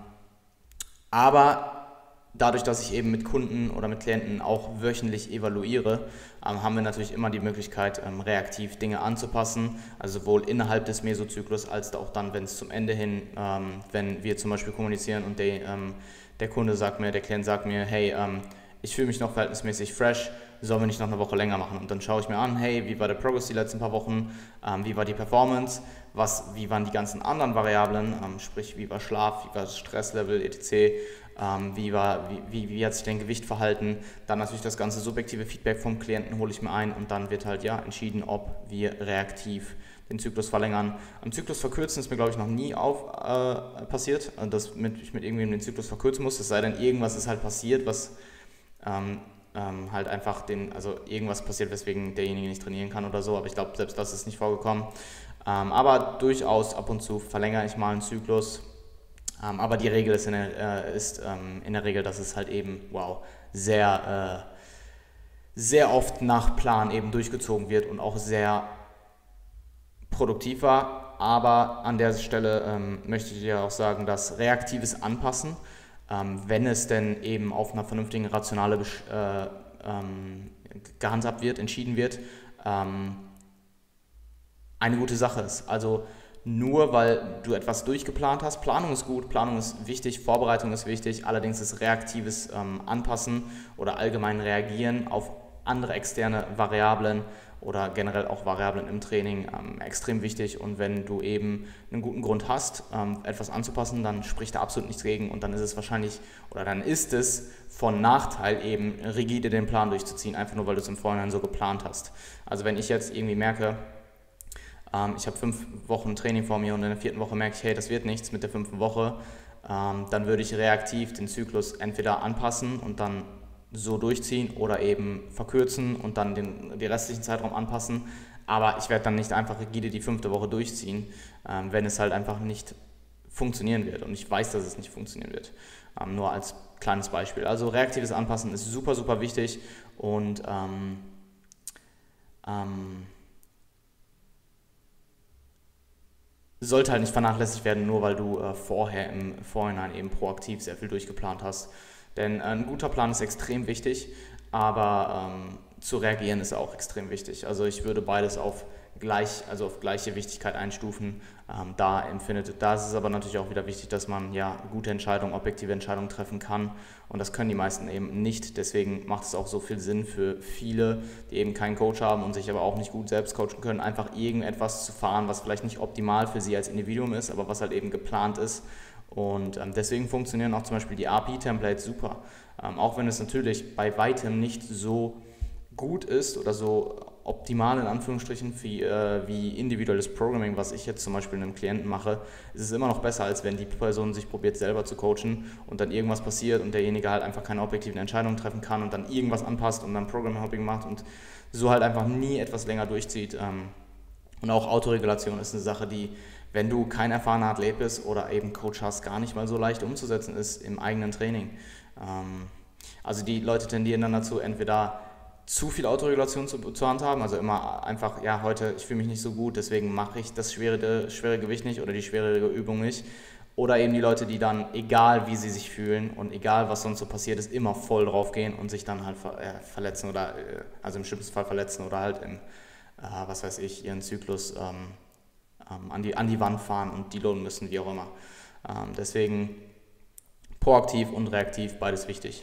aber dadurch, dass ich eben mit Kunden oder mit Klienten auch wöchentlich evaluiere, ähm, haben wir natürlich immer die Möglichkeit, ähm, reaktiv Dinge anzupassen, also sowohl innerhalb des Mesozyklus als auch dann, wenn es zum Ende hin, ähm, wenn wir zum Beispiel kommunizieren und der, ähm, der Kunde sagt mir, der Klient sagt mir, hey, ähm, ich fühle mich noch verhältnismäßig fresh, sollen wir nicht noch eine Woche länger machen? Und dann schaue ich mir an, hey, wie war der Progress die letzten paar Wochen, ähm, wie war die Performance, was, wie waren die ganzen anderen Variablen, ähm, sprich, wie war Schlaf, wie war das Stresslevel, et cetera, ähm, wie, war, wie, wie, wie hat sich dein Gewicht verhalten, dann natürlich das ganze subjektive Feedback vom Klienten hole ich mir ein, und dann wird halt ja entschieden, ob wir reaktiv den Zyklus verlängern. Am Zyklus verkürzen ist mir, glaube ich, noch nie auf, äh, passiert, dass mit, ich mit irgendwem den Zyklus verkürzen muss, es sei denn, irgendwas ist halt passiert, was ähm, ähm, halt einfach den, also irgendwas passiert, weswegen derjenige nicht trainieren kann oder so, aber ich glaube, selbst das ist nicht vorgekommen. Ähm, aber durchaus ab und zu verlängere ich mal einen Zyklus, ähm, aber die Regel ist, in der, äh, ist ähm, in der Regel, dass es halt eben, wow, sehr, äh, sehr oft nach Plan eben durchgezogen wird und auch sehr produktiv war. Aber an der Stelle ähm, möchte ich dir auch sagen, dass reaktives Anpassen, ähm, wenn es denn eben auf einer vernünftigen Rationale äh, ähm, gehandhabt wird, entschieden wird, ähm, eine gute Sache ist. Also nur weil du etwas durchgeplant hast, Planung ist gut, Planung ist wichtig, Vorbereitung ist wichtig, allerdings ist reaktives ähm, Anpassen oder allgemein Reagieren auf andere externe Variablen oder generell auch Variablen im Training ähm, extrem wichtig, und wenn du eben einen guten Grund hast, ähm, etwas anzupassen, dann spricht da absolut nichts gegen, und dann ist es wahrscheinlich oder dann ist es von Nachteil, eben rigide den Plan durchzuziehen, einfach nur weil du es im Vorhinein so geplant hast. Also wenn ich jetzt irgendwie merke, ähm, ich habe fünf Wochen Training vor mir und in der vierten Woche merke ich, hey, das wird nichts mit der fünften Woche, ähm, dann würde ich reaktiv den Zyklus entweder anpassen und dann so durchziehen oder eben verkürzen und dann den, den restlichen Zeitraum anpassen. Aber ich werde dann nicht einfach rigide die fünfte Woche durchziehen, ähm, wenn es halt einfach nicht funktionieren wird. Und ich weiß, dass es nicht funktionieren wird. Ähm, nur als kleines Beispiel. Also reaktives Anpassen ist super, super wichtig, und ähm, ähm, sollte halt nicht vernachlässigt werden, nur weil du äh, vorher im Vorhinein eben proaktiv sehr viel durchgeplant hast. Denn ein guter Plan ist extrem wichtig, aber ähm, zu reagieren ist auch extrem wichtig. Also ich würde beides auf, gleich, also auf gleiche Wichtigkeit einstufen. Ähm, da, empfindet, da ist es aber natürlich auch wieder wichtig, dass man ja gute Entscheidungen, objektive Entscheidungen treffen kann. Und das können die meisten eben nicht. Deswegen macht es auch so viel Sinn für viele, die eben keinen Coach haben und sich aber auch nicht gut selbst coachen können, einfach irgendetwas zu fahren, was vielleicht nicht optimal für sie als Individuum ist, aber was halt eben geplant ist. Und ähm, deswegen funktionieren auch zum Beispiel die R P-Templates super. Ähm, auch wenn es natürlich bei weitem nicht so gut ist oder so optimal in Anführungsstrichen wie, äh, wie individuelles Programming, was ich jetzt zum Beispiel einem Klienten mache, ist es immer noch besser, als wenn die Person sich probiert selber zu coachen und dann irgendwas passiert und derjenige halt einfach keine objektiven Entscheidungen treffen kann und dann irgendwas anpasst und dann Program-Hopping macht und so halt einfach nie etwas länger durchzieht. Ähm, und auch Autoregulation ist eine Sache, die, wenn du kein erfahrener Athlet bist oder eben Coach hast, gar nicht mal so leicht umzusetzen ist im eigenen Training. Ähm, also die Leute tendieren dann dazu, entweder zu viel Autoregulation zu, zu handhaben, also immer einfach, ja, heute, ich fühle mich nicht so gut, deswegen mache ich das schwere, schwere Gewicht nicht oder die schwere Übung nicht. Oder eben die Leute, die dann, egal wie sie sich fühlen und egal was sonst so passiert ist, immer voll drauf gehen und sich dann halt ver äh, verletzen oder, äh, also im schlimmsten Fall verletzen oder halt im, äh, was weiß ich, ihren Zyklus ähm, ähm, an, die, an die Wand fahren und deloaden müssen, wie auch immer. Ähm, deswegen proaktiv und reaktiv, beides wichtig.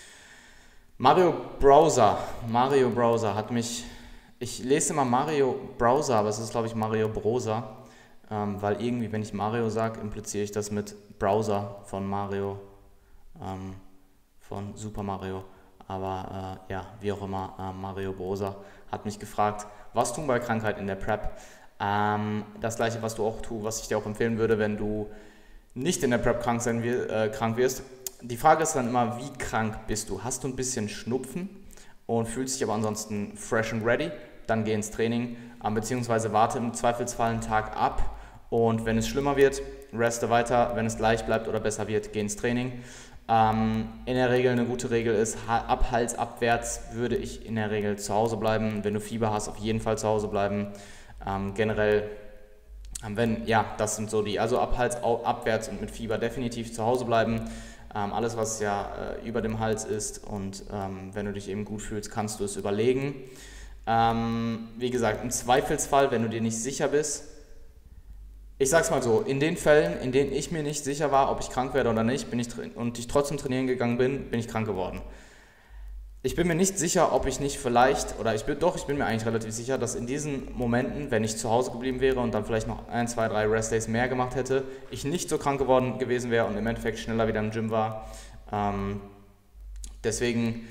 Mario Browser, Mario Browser hat mich, ich lese immer Mario Browser, aber es ist glaube ich Mario Browser. Ähm, weil irgendwie, wenn ich Mario sage, impliziere ich das mit Browser von Mario, ähm, von Super Mario. Aber äh, ja, wie auch immer, äh, Mario Browser hat mich gefragt, was tun bei Krankheit in der Prep? Ähm, das gleiche, was du auch tust, was ich dir auch empfehlen würde, wenn du nicht in der Prep krank, sein wir, äh, krank wirst. Die Frage ist dann immer, wie krank bist du? Hast du ein bisschen Schnupfen und fühlst dich aber ansonsten fresh and ready? Dann geh ins Training, ähm, beziehungsweise warte im Zweifelsfall einen Tag ab. Und wenn es schlimmer wird, reste weiter. Wenn es gleich bleibt oder besser wird, geh ins Training. Ähm, in der Regel eine gute Regel ist, ab Hals abwärts würde ich in der Regel zu Hause bleiben. Wenn du Fieber hast, auf jeden Fall zu Hause bleiben. Ähm, generell, wenn, ja, das sind so die, also ab Hals abwärts und mit Fieber definitiv zu Hause bleiben. Ähm, alles, was ja äh, über dem Hals ist und ähm, wenn du dich eben gut fühlst, kannst du es überlegen. Ähm, wie gesagt, im Zweifelsfall, wenn du dir nicht sicher bist, ich sag's mal so, in den Fällen, in denen ich mir nicht sicher war, ob ich krank werde oder nicht, bin ich und ich trotzdem trainieren gegangen bin, bin ich krank geworden. Ich bin mir nicht sicher, ob ich nicht vielleicht, oder ich bin doch, ich bin mir eigentlich relativ sicher, dass in diesen Momenten, wenn ich zu Hause geblieben wäre und dann vielleicht noch ein, zwei, drei Restdays mehr gemacht hätte, ich nicht so krank geworden gewesen wäre und im Endeffekt schneller wieder im Gym war. Ähm, deswegen,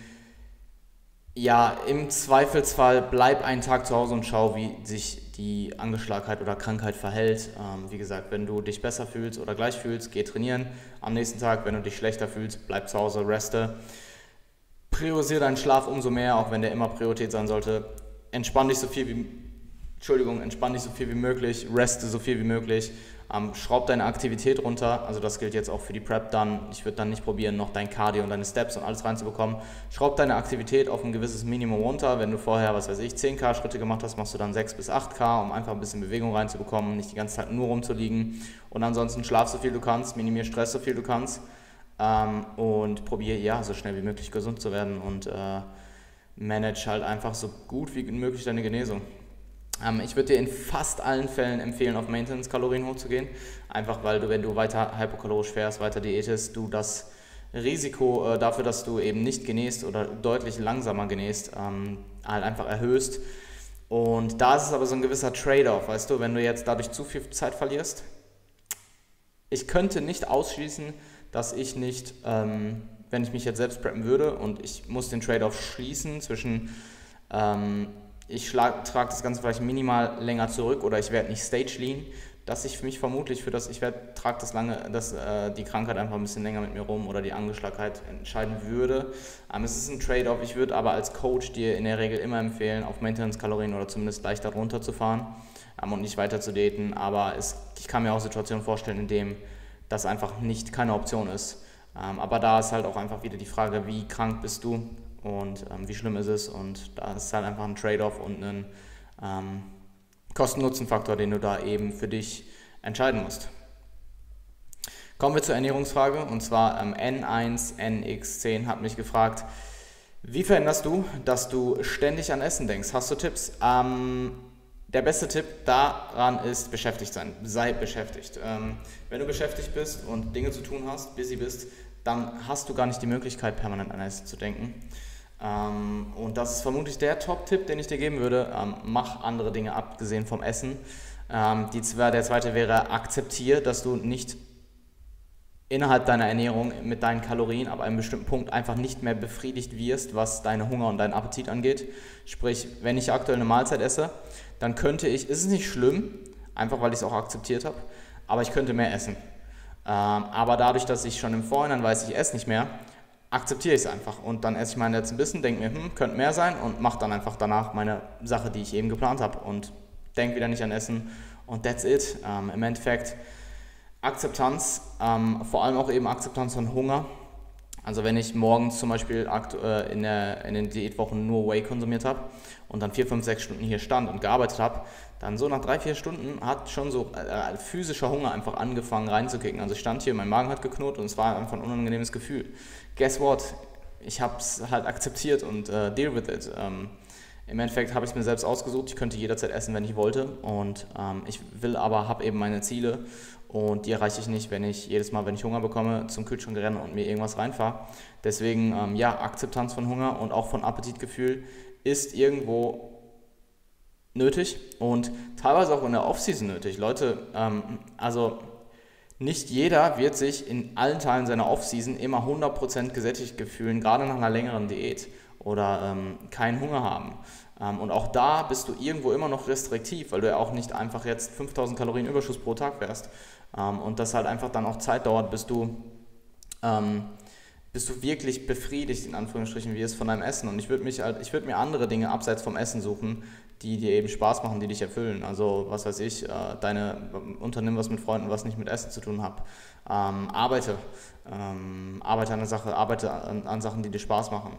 ja, im Zweifelsfall bleib einen Tag zu Hause und schau, wie sich die Angeschlagenheit oder Krankheit verhält. Ähm, wie gesagt, wenn du dich besser fühlst oder gleich fühlst, geh trainieren. Am nächsten Tag, wenn du dich schlechter fühlst, bleib zu Hause, reste. Priorisiere deinen Schlaf umso mehr, auch wenn der immer Priorität sein sollte. Entspann dich so viel wie, Entschuldigung, entspann dich so viel wie möglich, reste so viel wie möglich. Ähm, schraub deine Aktivität runter, also das gilt jetzt auch für die Prep dann. Ich würde dann nicht probieren, noch dein Cardio und deine Steps und alles reinzubekommen. Schraub deine Aktivität auf ein gewisses Minimum runter. Wenn du vorher, was weiß ich, zehn K Schritte gemacht hast, machst du dann sechs bis acht K, um einfach ein bisschen Bewegung reinzubekommen, nicht die ganze Zeit nur rumzuliegen. Und ansonsten schlaf so viel du kannst, minimier Stress so viel du kannst ähm, und probier ja so schnell wie möglich gesund zu werden und äh, manage halt einfach so gut wie möglich deine Genesung. Ich würde dir in fast allen Fällen empfehlen, auf Maintenance-Kalorien hochzugehen, einfach weil du, wenn du weiter hypokalorisch fährst, weiter diätest, du das Risiko äh, dafür, dass du eben nicht genäst oder deutlich langsamer genäst, ähm, halt einfach erhöhst. Und da ist es aber so ein gewisser Trade-off, weißt du, wenn du jetzt dadurch zu viel Zeit verlierst. Ich könnte nicht ausschließen, dass ich nicht, ähm, wenn ich mich jetzt selbst preppen würde und ich muss den Trade-off schließen zwischen ähm, ich trage das Ganze vielleicht minimal länger zurück oder ich werde nicht stage lean, dass ich für mich vermutlich für das, ich werde, trage das lange, dass äh, die Krankheit einfach ein bisschen länger mit mir rum oder die Angeschlagenheit entscheiden würde. Ähm, es ist ein Trade-off, ich würde aber als Coach dir in der Regel immer empfehlen, auf Maintenance-Kalorien oder zumindest leichter runterzufahren ähm, und nicht weiter zu daten, aber es, ich kann mir auch Situationen vorstellen, in denen das einfach nicht keine Option ist. Ähm, aber da ist halt auch einfach wieder die Frage, wie krank bist du? Und ähm, wie schlimm ist es, und da ist halt einfach ein Trade-off und ein ähm, Kosten-Nutzen-Faktor, den du da eben für dich entscheiden musst. Kommen wir zur Ernährungsfrage, und zwar ähm, N eins N X zehn hat mich gefragt, wie verhinderst du, dass du ständig an Essen denkst? Hast du Tipps? Ähm, der beste Tipp daran ist beschäftigt sein, sei beschäftigt. Ähm, wenn du beschäftigt bist und Dinge zu tun hast, busy bist, dann hast du gar nicht die Möglichkeit, permanent an Essen zu denken. Ähm, und das ist vermutlich der Top-Tipp, den ich dir geben würde. Ähm, mach andere Dinge abgesehen vom Essen. Ähm, die, der zweite wäre, akzeptiere, dass du nicht innerhalb deiner Ernährung mit deinen Kalorien ab einem bestimmten Punkt einfach nicht mehr befriedigt wirst, was deine Hunger und deinen Appetit angeht. Sprich, wenn ich aktuell eine Mahlzeit esse, dann könnte ich, ist es nicht schlimm, einfach weil ich es auch akzeptiert habe, aber ich könnte mehr essen. Ähm, aber dadurch, dass ich schon im Vorhinein weiß, ich esse nicht mehr, akzeptiere ich es einfach und dann esse ich meinen letzten Bissen, denke mir, hm, könnte mehr sein und mache dann einfach danach meine Sache, die ich eben geplant habe und denke wieder nicht an Essen und that's it. Ähm, im Endeffekt Akzeptanz, ähm, vor allem auch eben Akzeptanz von Hunger, Also wenn ich morgens zum Beispiel aktuell in, der, in den Diätwochen nur Whey konsumiert habe und dann vier, fünf, sechs Stunden hier stand und gearbeitet habe, dann so nach drei, vier Stunden hat schon so äh, physischer Hunger einfach angefangen reinzukicken. Also ich stand hier, mein Magen hat geknurrt und es war einfach ein unangenehmes Gefühl. Guess what? Ich habe es halt akzeptiert und äh, deal with it. Ähm, Im Endeffekt habe ich es mir selbst ausgesucht, ich könnte jederzeit essen, wenn ich wollte und ähm, ich will aber, habe eben meine Ziele und die erreiche ich nicht, wenn ich jedes Mal, wenn ich Hunger bekomme, zum Kühlschrank renne und mir irgendwas reinfahre. Deswegen, ähm, ja, Akzeptanz von Hunger und auch von Appetitgefühl ist irgendwo nötig und teilweise auch in der Off-Season nötig. Leute, ähm, also nicht jeder wird sich in allen Teilen seiner Off-Season immer hundert Prozent gesättigt fühlen, gerade nach einer längeren Diät oder ähm, keinen Hunger haben. Ähm, und auch da bist du irgendwo immer noch restriktiv, weil du ja auch nicht einfach jetzt fünftausend Kalorien Überschuss pro Tag fährst. Ähm, und das halt einfach dann auch Zeit dauert, bis du, ähm, bis du wirklich befriedigt, in Anführungsstrichen, wirst von deinem Essen. Und ich würde mich halt, ich würde mir andere Dinge abseits vom Essen suchen, die dir eben Spaß machen, die dich erfüllen. Also was weiß ich, äh, deine unternimm was mit Freunden, was nicht mit Essen zu tun hat. Ähm, arbeite, ähm, arbeite an der Sache, arbeite an, an Sachen, die dir Spaß machen.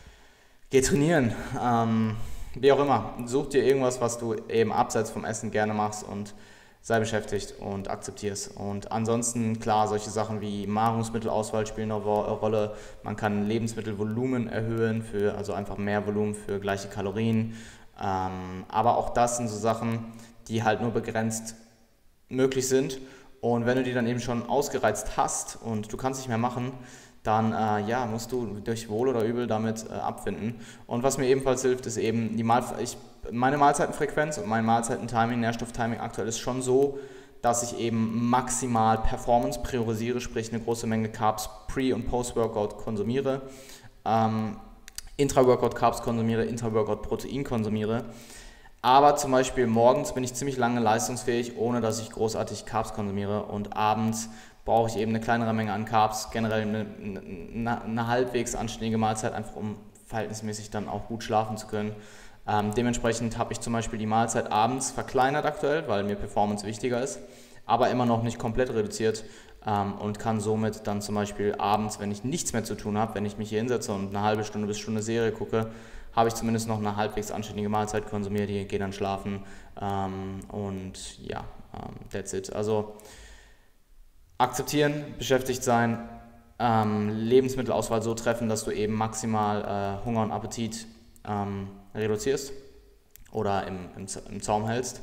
Geh trainieren, ähm, wie auch immer. Such dir irgendwas, was du eben abseits vom Essen gerne machst und sei beschäftigt und akzeptier es. Und ansonsten, klar, solche Sachen wie Nahrungsmittelauswahl spielen eine Rolle. Man kann Lebensmittelvolumen erhöhen, für, also einfach mehr Volumen für gleiche Kalorien. Ähm, aber auch das sind so Sachen, die halt nur begrenzt möglich sind. Und wenn du die dann eben schon ausgereizt hast und du kannst nicht mehr machen, dann äh, ja, musst du durch Wohl oder Übel damit äh, abfinden. Und was mir ebenfalls hilft, ist eben die Mahl ich, meine Mahlzeitenfrequenz und mein Mahlzeitentiming, Nährstofftiming aktuell ist schon so, dass ich eben maximal Performance priorisiere, sprich eine große Menge Carbs pre- und post-Workout konsumiere, ähm, Intra-Workout Carbs konsumiere, Intra-Workout Protein konsumiere. Aber zum Beispiel morgens bin ich ziemlich lange leistungsfähig, ohne dass ich großartig Carbs konsumiere und abends brauche ich eben eine kleinere Menge an Carbs, generell eine, eine, eine halbwegs anständige Mahlzeit, einfach um verhältnismäßig dann auch gut schlafen zu können. Ähm, dementsprechend habe ich zum Beispiel die Mahlzeit abends verkleinert aktuell, weil mir Performance wichtiger ist, aber immer noch nicht komplett reduziert ähm, und kann somit dann zum Beispiel abends, wenn ich nichts mehr zu tun habe, wenn ich mich hier hinsetze und eine halbe Stunde bis Stunde Serie gucke, habe ich zumindest noch eine halbwegs anständige Mahlzeit konsumiert, die gehe dann schlafen ähm, und ja, ähm, that's it. Also akzeptieren, beschäftigt sein, ähm, Lebensmittelauswahl so treffen, dass du eben maximal äh, Hunger und Appetit ähm, reduzierst oder im, im, im Zaum hältst.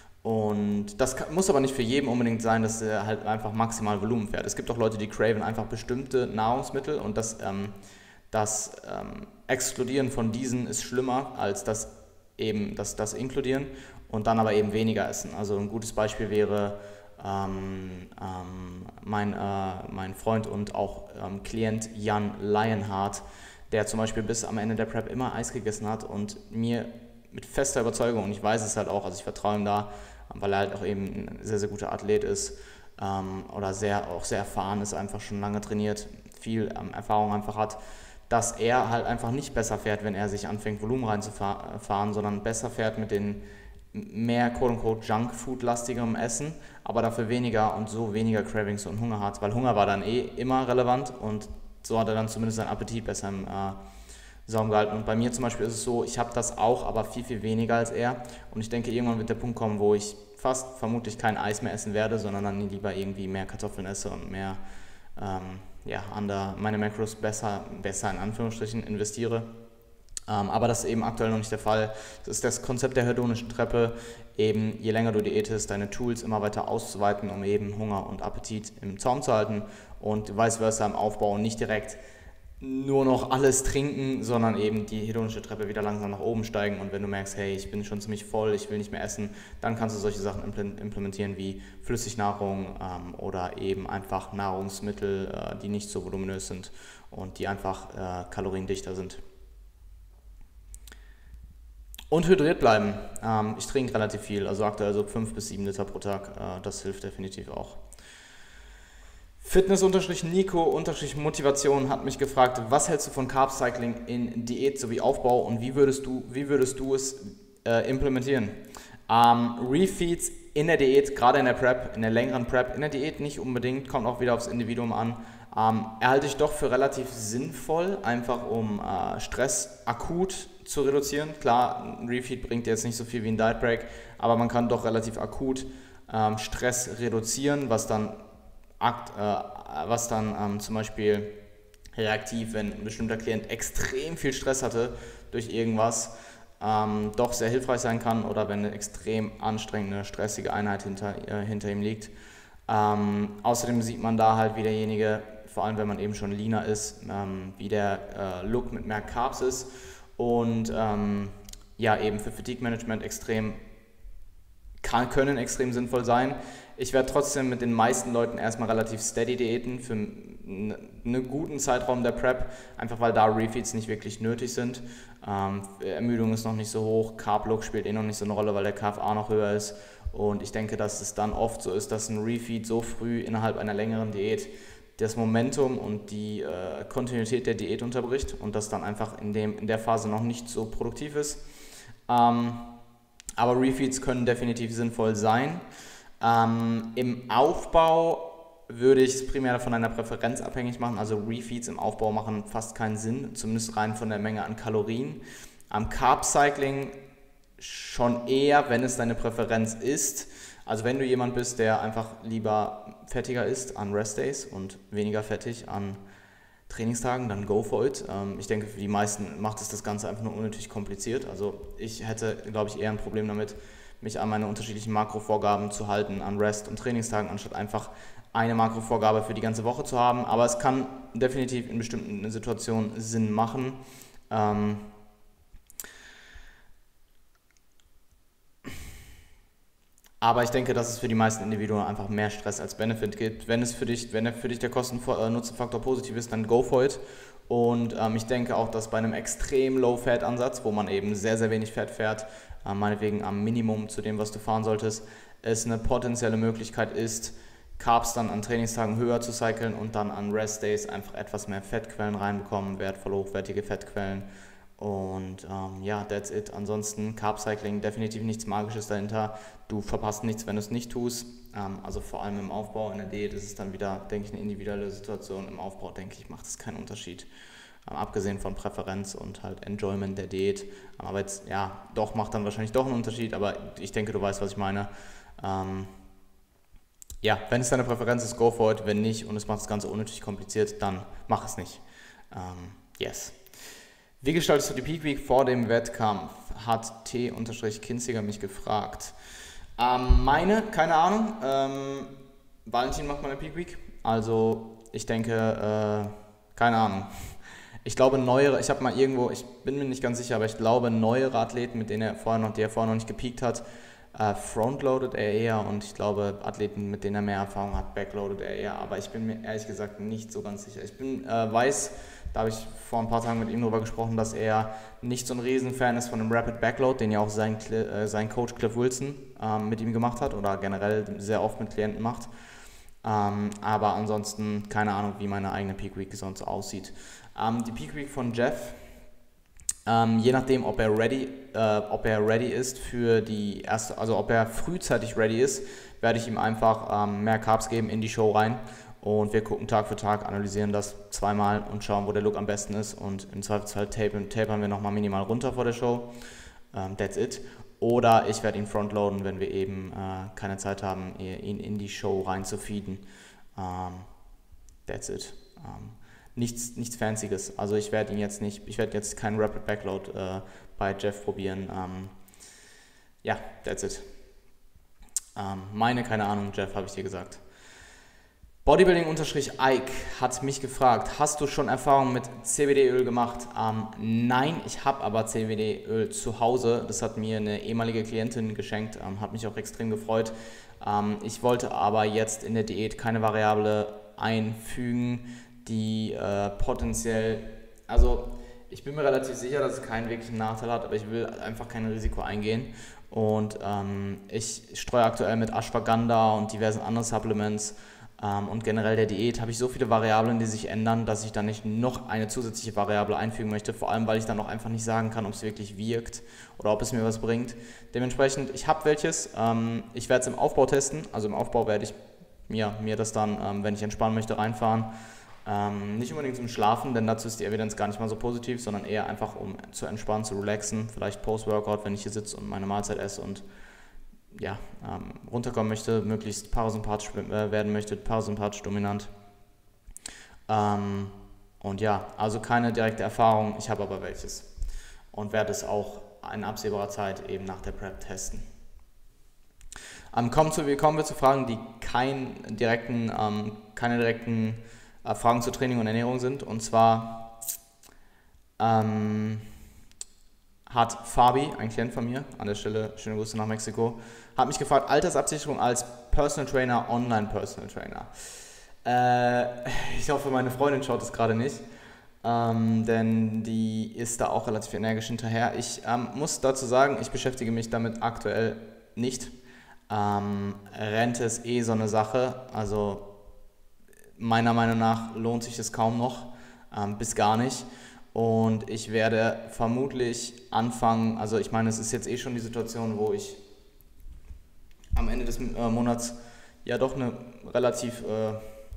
Und das kann, muss aber nicht für jeden unbedingt sein, dass er halt einfach maximal Volumen fährt. Es gibt auch Leute, die craven einfach bestimmte Nahrungsmittel und das, ähm, das ähm, Exkludieren von diesen ist schlimmer als das eben das, das Inkludieren und dann aber eben weniger essen. Also ein gutes Beispiel wäre Ähm, ähm, mein, äh, mein Freund und auch ähm, Klient Jan Lionheart, der zum Beispiel bis am Ende der Prep immer Eis gegessen hat und mir mit fester Überzeugung, und ich weiß es halt auch, also ich vertraue ihm da, weil er halt auch eben ein sehr, sehr guter Athlet ist ähm, oder sehr, auch sehr erfahren ist, einfach schon lange trainiert, viel ähm, Erfahrung einfach hat, dass er halt einfach nicht besser fährt, wenn er sich anfängt, Volumen reinzufahren, sondern besser fährt mit den mehr quote-unquote Junk-Food-lastigerem Essen, aber dafür weniger und so weniger Cravings und Hunger hat, weil Hunger war dann eh immer relevant und so hat er dann zumindest seinen Appetit besser im äh, Saum gehalten. Und bei mir zum Beispiel ist es so, ich habe das auch, aber viel, viel weniger als er und ich denke, irgendwann wird der Punkt kommen, wo ich fast vermutlich kein Eis mehr essen werde, sondern dann lieber irgendwie mehr Kartoffeln esse und mehr ähm, ja, an der, meine Macros besser, besser in Anführungsstrichen investiere. Ähm, aber das ist eben aktuell noch nicht der Fall. Das ist das Konzept der hedonischen Treppe, eben je länger du diätest, deine Tools immer weiter auszuweiten, um eben Hunger und Appetit im Zaum zu halten und vice versa im Aufbau und nicht direkt nur noch alles trinken, sondern eben die hedonische Treppe wieder langsam nach oben steigen und wenn du merkst, hey, ich bin schon ziemlich voll, ich will nicht mehr essen, dann kannst du solche Sachen implementieren wie Flüssignahrung ähm, oder eben einfach Nahrungsmittel, äh, die nicht so voluminös sind und die einfach äh, kaloriendichter sind. Und hydriert bleiben. Ähm, ich trinke relativ viel, also aktuell so fünf bis sieben Liter pro Tag. Äh, das hilft definitiv auch. Fitness-Nico-Motivation hat mich gefragt, was hältst du von Carb-Cycling in Diät sowie Aufbau und wie würdest du, wie würdest du es äh, implementieren? Ähm, Refeeds in der Diät, gerade in der Prep, in der längeren Prep, in der Diät nicht unbedingt, kommt auch wieder aufs Individuum an, ähm, erhalte ich doch für relativ sinnvoll, einfach um äh, Stress akut zu reduzieren. Klar, ein Refeed bringt jetzt nicht so viel wie ein Diet Break, aber man kann doch relativ akut ähm, Stress reduzieren, was dann, akt, äh, was dann ähm, zum Beispiel reaktiv, wenn ein bestimmter Klient extrem viel Stress hatte durch irgendwas, ähm, doch sehr hilfreich sein kann, oder wenn eine extrem anstrengende, stressige Einheit hinter, äh, hinter ihm liegt. Ähm, außerdem sieht man da halt, wie derjenige, vor allem wenn man eben schon leaner ist, ähm, wie der äh, Look mit mehr Carbs ist, und ähm, ja, eben für Fatigue Management extrem kann, können extrem sinnvoll sein. Ich werde trotzdem mit den meisten Leuten erstmal relativ steady diäten für einen guten Zeitraum der Prep, einfach weil da Refeeds nicht wirklich nötig sind. Ähm, Ermüdung ist noch nicht so hoch, Carb-Look spielt eh noch nicht so eine Rolle, weil der K F A noch höher ist, und ich denke, dass es dann oft so ist, dass ein Refeed so früh innerhalb einer längeren Diät das Momentum und die äh, Kontinuität der Diät unterbricht und das dann einfach in, dem, in der Phase noch nicht so produktiv ist. Ähm, aber Refeeds können definitiv sinnvoll sein. Ähm, Im Aufbau würde ich es primär von einer Präferenz abhängig machen, also Refeeds im Aufbau machen fast keinen Sinn, zumindest rein von der Menge an Kalorien. Am Carb-Cycling schon eher, wenn es deine Präferenz ist. Also wenn du jemand bist, der einfach lieber fettiger isst an Rest-Days und weniger fettig an Trainingstagen, dann go for it. Ähm, ich denke, für die meisten macht es das Ganze einfach nur unnötig kompliziert. Also ich hätte, glaube ich, eher ein Problem damit, mich an meine unterschiedlichen Makrovorgaben zu halten an Rest- und Trainingstagen, anstatt einfach eine Makrovorgabe für die ganze Woche zu haben. Aber es kann definitiv in bestimmten Situationen Sinn machen. Ähm, Aber ich denke, dass es für die meisten Individuen einfach mehr Stress als Benefit gibt. Wenn es für dich, wenn für dich der Kosten-Nutzen-Faktor positiv ist, dann go for it. Und ähm, ich denke auch, dass bei einem extrem Low-Fat-Ansatz, wo man eben sehr, sehr wenig Fett fährt, äh, meinetwegen am Minimum zu dem, was du fahren solltest, es eine potenzielle Möglichkeit ist, Carbs dann an Trainingstagen höher zu cyclen und dann an Rest-Days einfach etwas mehr Fettquellen reinbekommen, wertvoll hochwertige Fettquellen. Und ähm, ja, that's it. Ansonsten Carb-Cycling, definitiv nichts Magisches dahinter. Du verpasst nichts, wenn du es nicht tust. Ähm, also vor allem im Aufbau, in der Diät ist es dann wieder, denke ich, eine individuelle Situation. Im Aufbau, denke ich, macht es keinen Unterschied. Ähm, abgesehen von Präferenz und halt Enjoyment der Diät. Aber jetzt, ja, doch, macht dann wahrscheinlich doch einen Unterschied. Aber ich denke, du weißt, was ich meine. Ähm, ja, wenn es deine Präferenz ist, go for it. Wenn nicht und es macht das Ganze unnötig kompliziert, dann mach es nicht. Ähm, yes. Wie gestaltest du die Peak Week vor dem Wettkampf? Hat T-Kinziger mich gefragt. Ähm, meine, keine Ahnung. Ähm, Valentin macht meine Peak Week. Also ich denke, äh, keine Ahnung. Ich glaube neuere, ich habe mal irgendwo, ich bin mir nicht ganz sicher, aber ich glaube neuere Athleten, mit denen er vorher noch, die er vorher noch nicht gepeakt hat, äh, frontloadet er eher, und ich glaube Athleten, mit denen er mehr Erfahrung hat, backloadet er eher. Aber ich bin mir ehrlich gesagt nicht so ganz sicher. Ich bin, äh, weiß, da habe ich vor ein paar Tagen mit ihm darüber gesprochen, dass er nicht so ein Riesenfan ist von dem Rapid Backload, den ja auch sein, äh, sein Coach Cliff Wilson ähm, mit ihm gemacht hat oder generell sehr oft mit Klienten macht. Ähm, aber ansonsten keine Ahnung, wie meine eigene Peak Week sonst aussieht. Ähm, die Peak Week von Jeff, ähm, je nachdem, ob er ready, äh, ob er ready ist für die erste, also ob er frühzeitig ready ist, werde ich ihm einfach ähm, mehr Carbs geben in die Show rein. Und wir gucken Tag für Tag, analysieren das zweimal und schauen, wo der Look am besten ist. Und im Zweifelsfall tapern, tapern wir nochmal minimal runter vor der Show. Um, that's it. Oder ich werde ihn frontloaden, wenn wir eben äh, keine Zeit haben, ihn in die Show reinzufeeden. Um, that's it. Um, nichts, nichts Fancyes. Also ich werde ihn jetzt nicht, ich werde jetzt keinen Rapid Backload äh, bei Jeff probieren. Um, ja, that's it. Um, meine, keine Ahnung, Jeff, habe ich dir gesagt. Bodybuilding-Ike hat mich gefragt, hast du schon Erfahrung mit C B D-Öl gemacht? Ähm, nein, ich habe aber C B D-Öl zu Hause. Das hat mir eine ehemalige Klientin geschenkt, ähm, hat mich auch extrem gefreut. Ähm, ich wollte aber jetzt in der Diät keine Variable einfügen, die äh, potenziell, also ich bin mir relativ sicher, dass es keinen wirklichen Nachteil hat, aber ich will einfach kein Risiko eingehen. Und ähm, ich streue aktuell mit Ashwagandha und diversen anderen Supplements Ähm, und generell der Diät habe ich so viele Variablen, die sich ändern, dass ich dann nicht noch eine zusätzliche Variable einfügen möchte, vor allem, weil ich dann auch einfach nicht sagen kann, ob es wirklich wirkt oder ob es mir was bringt. Dementsprechend, ich habe welches, ähm, ich werde es im Aufbau testen, also im Aufbau werde ich ja, mir das dann, ähm, wenn ich entspannen möchte, reinfahren. Ähm, nicht unbedingt zum Schlafen, denn dazu ist die Evidenz gar nicht mal so positiv, sondern eher einfach, um zu entspannen, zu relaxen, vielleicht Post-Workout, wenn ich hier sitze und meine Mahlzeit esse und ja, ähm, runterkommen möchte, möglichst parasympathisch äh, werden möchte, parasympathisch dominant. Ähm, und ja, also keine direkte Erfahrung, ich habe aber welches und werde es auch in absehbarer Zeit eben nach der Prep testen. Ähm, kommen, zu, kommen wir zu Fragen, die kein direkten, ähm, keine direkten äh, Fragen zu Training und Ernährung sind. Und zwar ähm, hat Fabi, ein Klient von mir, an der Stelle schöne Grüße nach Mexiko, hat mich gefragt, Altersabsicherung als Personal Trainer, Online-Personal Trainer. Äh, ich hoffe, meine Freundin schaut das gerade nicht, ähm, denn die ist da auch relativ energisch hinterher. Ich ähm, muss dazu sagen, ich beschäftige mich damit aktuell nicht. Ähm, Rente ist eh so eine Sache, also meiner Meinung nach lohnt sich das kaum noch, ähm, bis gar nicht. Und ich werde vermutlich anfangen, also ich meine, es ist jetzt eh schon die Situation, wo ich am Ende des äh, Monats ja doch eine relativ, äh,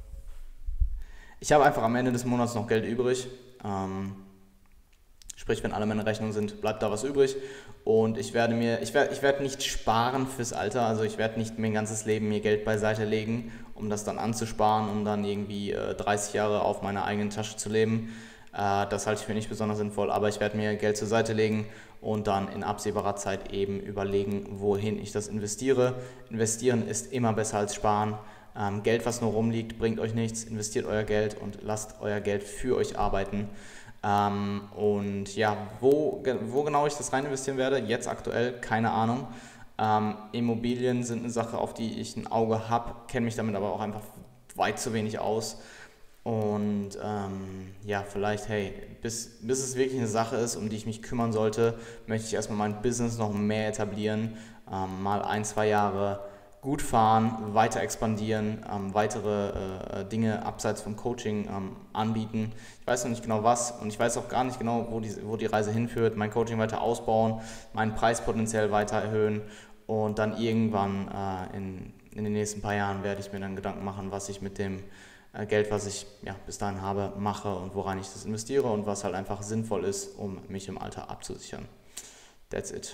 ich habe einfach am Ende des Monats noch Geld übrig, ähm, sprich, wenn alle meine Rechnungen sind, bleibt da was übrig und ich werde mir, ich werde, ich werde nicht sparen fürs Alter, also ich werde nicht mein ganzes Leben mir Geld beiseite legen, um das dann anzusparen, um dann irgendwie äh, dreißig Jahre auf meiner eigenen Tasche zu leben. Äh, das halte ich für nicht besonders sinnvoll, aber ich werde mir Geld zur Seite legen und dann in absehbarer Zeit eben überlegen, wohin ich das investiere. Investieren ist immer besser als sparen. Ähm, Geld, was nur rumliegt, bringt euch nichts. Investiert euer Geld und lasst euer Geld für euch arbeiten. Ähm, und ja, wo, wo genau ich das rein investieren werde, jetzt aktuell, keine Ahnung. Ähm, Immobilien sind eine Sache, auf die ich ein Auge habe, kenne mich damit aber auch einfach weit zu wenig aus. Und ähm, ja, vielleicht, hey, bis, bis es wirklich eine Sache ist, um die ich mich kümmern sollte, möchte ich erstmal mein Business noch mehr etablieren, ähm, mal ein, zwei Jahre gut fahren, weiter expandieren, ähm, weitere äh, Dinge abseits vom Coaching ähm, anbieten. Ich weiß noch nicht genau was und ich weiß auch gar nicht genau, wo die, wo die Reise hinführt. Mein Coaching weiter ausbauen, meinen Preis potenziell weiter erhöhen und dann irgendwann äh, in, in den nächsten paar Jahren werde ich mir dann Gedanken machen, was ich mit dem äh, Geld, was ich ja, bis dahin habe, mache und woran ich das investiere und was halt einfach sinnvoll ist, um mich im Alter abzusichern. That's it.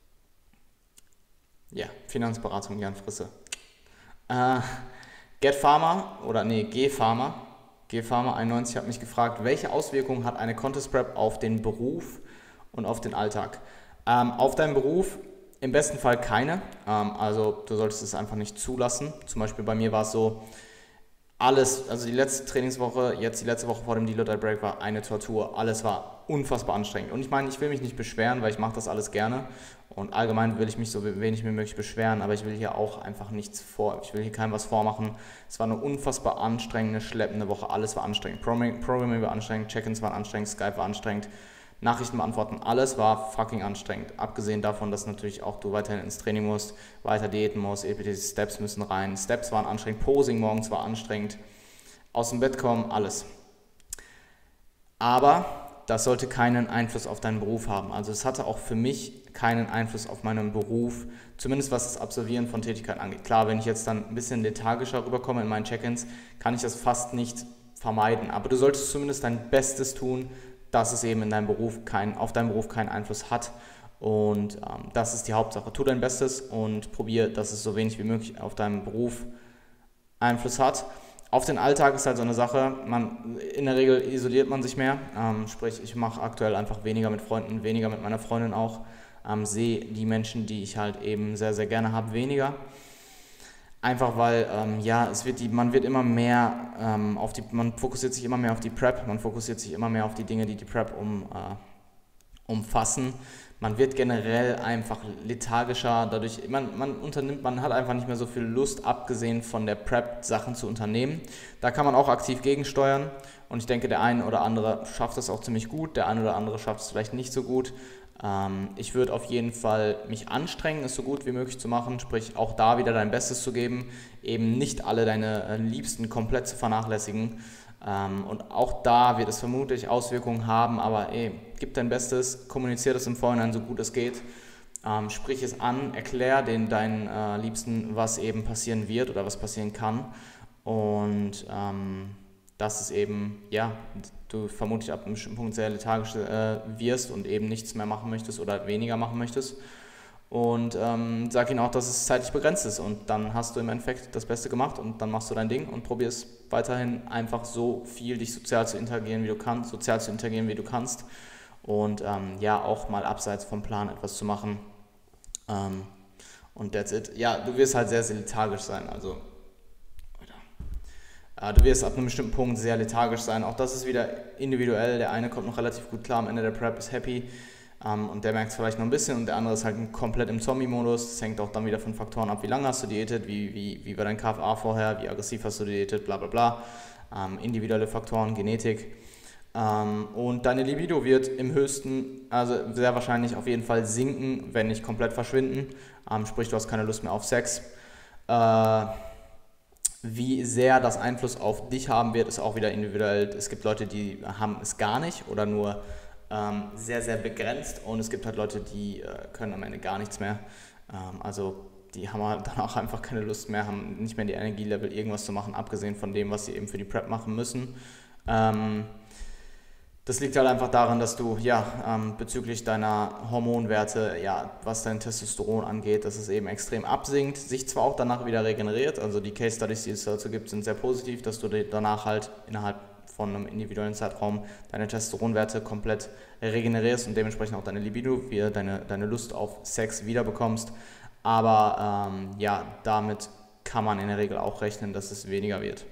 Ja, Finanzberatung Jan Frisse. Äh, Get Pharma oder nee, G Pharma, G Pharma einundneunzig hat mich gefragt, welche Auswirkungen hat eine Contest Prep auf den Beruf und auf den Alltag? Ähm, auf deinen Beruf im besten Fall keine, ähm, also du solltest es einfach nicht zulassen. Zum Beispiel bei mir war es so, alles, also die letzte Trainingswoche, jetzt die letzte Woche vor dem Deal or Die Break war eine Tortur, alles war unfassbar anstrengend. Und ich meine, ich will mich nicht beschweren, weil ich mache das alles gerne und allgemein will ich mich so wenig wie möglich beschweren, aber ich will hier auch einfach nichts vor, ich will hier keinem was vormachen. Es war eine unfassbar anstrengende, schleppende Woche, alles war anstrengend. Programming, Programming war anstrengend, Check-ins waren anstrengend, Skype war anstrengend, Nachrichten beantworten, alles war fucking anstrengend. Abgesehen davon, dass natürlich auch du weiterhin ins Training musst, weiter diäten musst, E P T-Steps müssen rein, Steps waren anstrengend, Posing morgens war anstrengend, aus dem Bett kommen, alles. Aber das sollte keinen Einfluss auf deinen Beruf haben. Also es hatte auch für mich keinen Einfluss auf meinen Beruf, zumindest was das Absolvieren von Tätigkeiten angeht. Klar, wenn ich jetzt dann ein bisschen lethargischer rüberkomme in meinen Check-ins, kann ich das fast nicht vermeiden. Aber du solltest zumindest dein Bestes tun, dass es eben in deinem Beruf kein, auf deinen Beruf keinen Einfluss hat. Und ähm, das ist die Hauptsache. Tu dein Bestes und probier, dass es so wenig wie möglich auf deinen Beruf Einfluss hat. Auf den Alltag ist halt so eine Sache, man, in der Regel isoliert man sich mehr, ähm, sprich ich mache aktuell einfach weniger mit Freunden, weniger mit meiner Freundin auch, ähm, sehe die Menschen, die ich halt eben sehr, sehr gerne habe, weniger. Einfach weil, ähm, ja, es wird die, man wird immer mehr ähm, auf die, man fokussiert sich immer mehr auf die Prep, man fokussiert sich immer mehr auf die Dinge, die die Prep um, äh, umfassen. Man wird generell einfach lethargischer, dadurch, man, man unternimmt, man hat einfach nicht mehr so viel Lust, abgesehen von der Prep, Sachen zu unternehmen. Da kann man auch aktiv gegensteuern und ich denke, der eine oder andere schafft das auch ziemlich gut, der eine oder andere schafft es vielleicht nicht so gut. Ähm, ich würde auf jeden Fall mich anstrengen, es so gut wie möglich zu machen, sprich auch da wieder dein Bestes zu geben, eben nicht alle deine äh, Liebsten komplett zu vernachlässigen. Ähm, und auch da wird es vermutlich Auswirkungen haben, aber ey, gib dein Bestes, kommuniziere das im Vorhinein so gut es geht. Ähm, sprich es an, erklär den deinen äh, Liebsten, was eben passieren wird oder was passieren kann. Und ähm, dass es eben, ja, du vermutlich ab einem bestimmten Punkt sehr lethargisch äh, wirst und eben nichts mehr machen möchtest oder weniger machen möchtest. Und ähm, sag ihnen auch, dass es zeitlich begrenzt ist und dann hast du im Endeffekt das Beste gemacht und dann machst du dein Ding und probierst weiterhin einfach so viel dich sozial zu interagieren, wie du kannst, sozial zu interagieren, wie du kannst und ähm, ja, auch mal abseits vom Plan etwas zu machen. Ähm, und that's it. Ja, du wirst halt sehr, sehr lethargisch sein, also äh, du wirst ab einem bestimmten Punkt sehr lethargisch sein. Auch das ist wieder individuell. Der eine kommt noch relativ gut klar am Ende der Prep, ist happy ähm, und der merkt es vielleicht noch ein bisschen und der andere ist halt komplett im Zombie-Modus. Das hängt auch dann wieder von Faktoren ab, wie lange hast du diätet, wie, wie, wie war dein K F A vorher, wie aggressiv hast du diätet, bla bla bla. Ähm, individuelle Faktoren, Genetik. Ähm, und deine Libido wird im höchsten, also sehr wahrscheinlich auf jeden Fall sinken, wenn nicht komplett verschwinden. Ähm, sprich, du hast keine Lust mehr auf Sex. Äh, Wie sehr das Einfluss auf dich haben wird, ist auch wieder individuell. Es gibt Leute, die haben es gar nicht oder nur ähm, sehr, sehr begrenzt und es gibt halt Leute, die äh, können am Ende gar nichts mehr. Ähm, also die haben halt dann auch einfach keine Lust mehr, haben nicht mehr die Energielevel, irgendwas zu machen, abgesehen von dem, was sie eben für die Prep machen müssen. Ähm, Das liegt halt einfach daran, dass du ja ähm, bezüglich deiner Hormonwerte, ja, was dein Testosteron angeht, dass es eben extrem absinkt, sich zwar auch danach wieder regeneriert, also die Case Studies, die es dazu gibt, sind sehr positiv, dass du danach halt innerhalb von einem individuellen Zeitraum deine Testosteronwerte komplett regenerierst und dementsprechend auch deine Libido, wie deine, deine Lust auf Sex wiederbekommst, aber ähm, ja, damit kann man in der Regel auch rechnen, dass es weniger wird.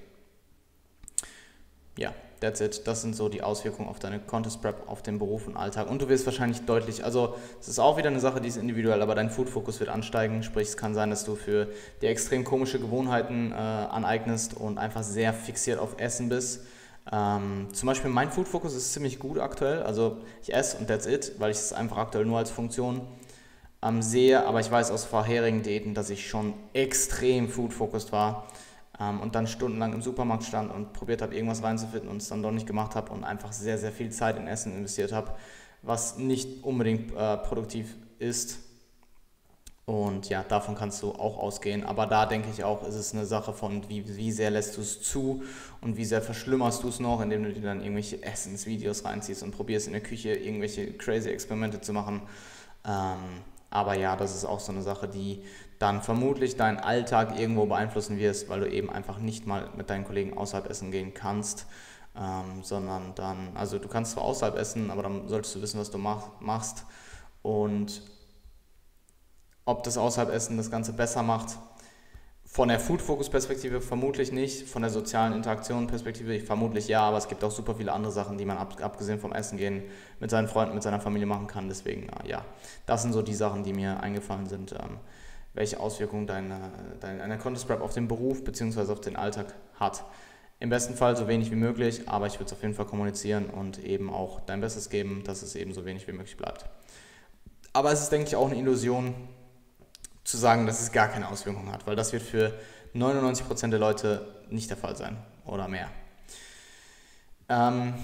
Ja. That's it. Das sind so die Auswirkungen auf deine Contest Prep, auf den Beruf und Alltag. Und du wirst wahrscheinlich deutlich, also es ist auch wieder eine Sache, die ist individuell, aber dein Food-Fokus wird ansteigen. Sprich, es kann sein, dass du für dir extrem komische Gewohnheiten äh, aneignest und einfach sehr fixiert auf Essen bist. Ähm, zum Beispiel mein Food-Fokus ist ziemlich gut aktuell. Also ich esse und that's it, weil ich es einfach aktuell nur als Funktion ähm, sehe. Aber ich weiß aus vorherigen Diäten, dass ich schon extrem Food-Focused war. Und dann stundenlang im Supermarkt stand und probiert habe, irgendwas reinzufinden und es dann doch nicht gemacht habe und einfach sehr, sehr viel Zeit in Essen investiert habe, was nicht unbedingt äh, produktiv ist. Und ja, davon kannst du auch ausgehen. Aber da denke ich auch, ist es eine Sache von, wie, wie sehr lässt du es zu und wie sehr verschlimmerst du es noch, indem du dir dann irgendwelche Essensvideos reinziehst und probierst in der Küche irgendwelche crazy Experimente zu machen. Ähm, aber ja, das ist auch so eine Sache, die dann vermutlich deinen Alltag irgendwo beeinflussen wirst, weil du eben einfach nicht mal mit deinen Kollegen außerhalb essen gehen kannst, ähm, sondern dann, also du kannst zwar außerhalb essen, aber dann solltest du wissen, was du mach, machst und ob das außerhalb Essen das Ganze besser macht. Von der Food-Focus-Perspektive vermutlich nicht, von der sozialen Interaktion-Perspektive vermutlich ja, aber es gibt auch super viele andere Sachen, die man ab, abgesehen vom Essen gehen mit seinen Freunden, mit seiner Familie machen kann. Deswegen, ja, das sind so die Sachen, die mir eingefallen sind, ähm, welche Auswirkungen deine, deine, deine Contest Prep auf den Beruf bzw. auf den Alltag hat. Im besten Fall so wenig wie möglich, aber ich würde es auf jeden Fall kommunizieren und eben auch dein Bestes geben, dass es eben so wenig wie möglich bleibt. Aber es ist, denke ich, auch eine Illusion, zu sagen, dass es gar keine Auswirkungen hat, weil das wird für neunundneunzig Prozent der Leute nicht der Fall sein oder mehr. Ähm,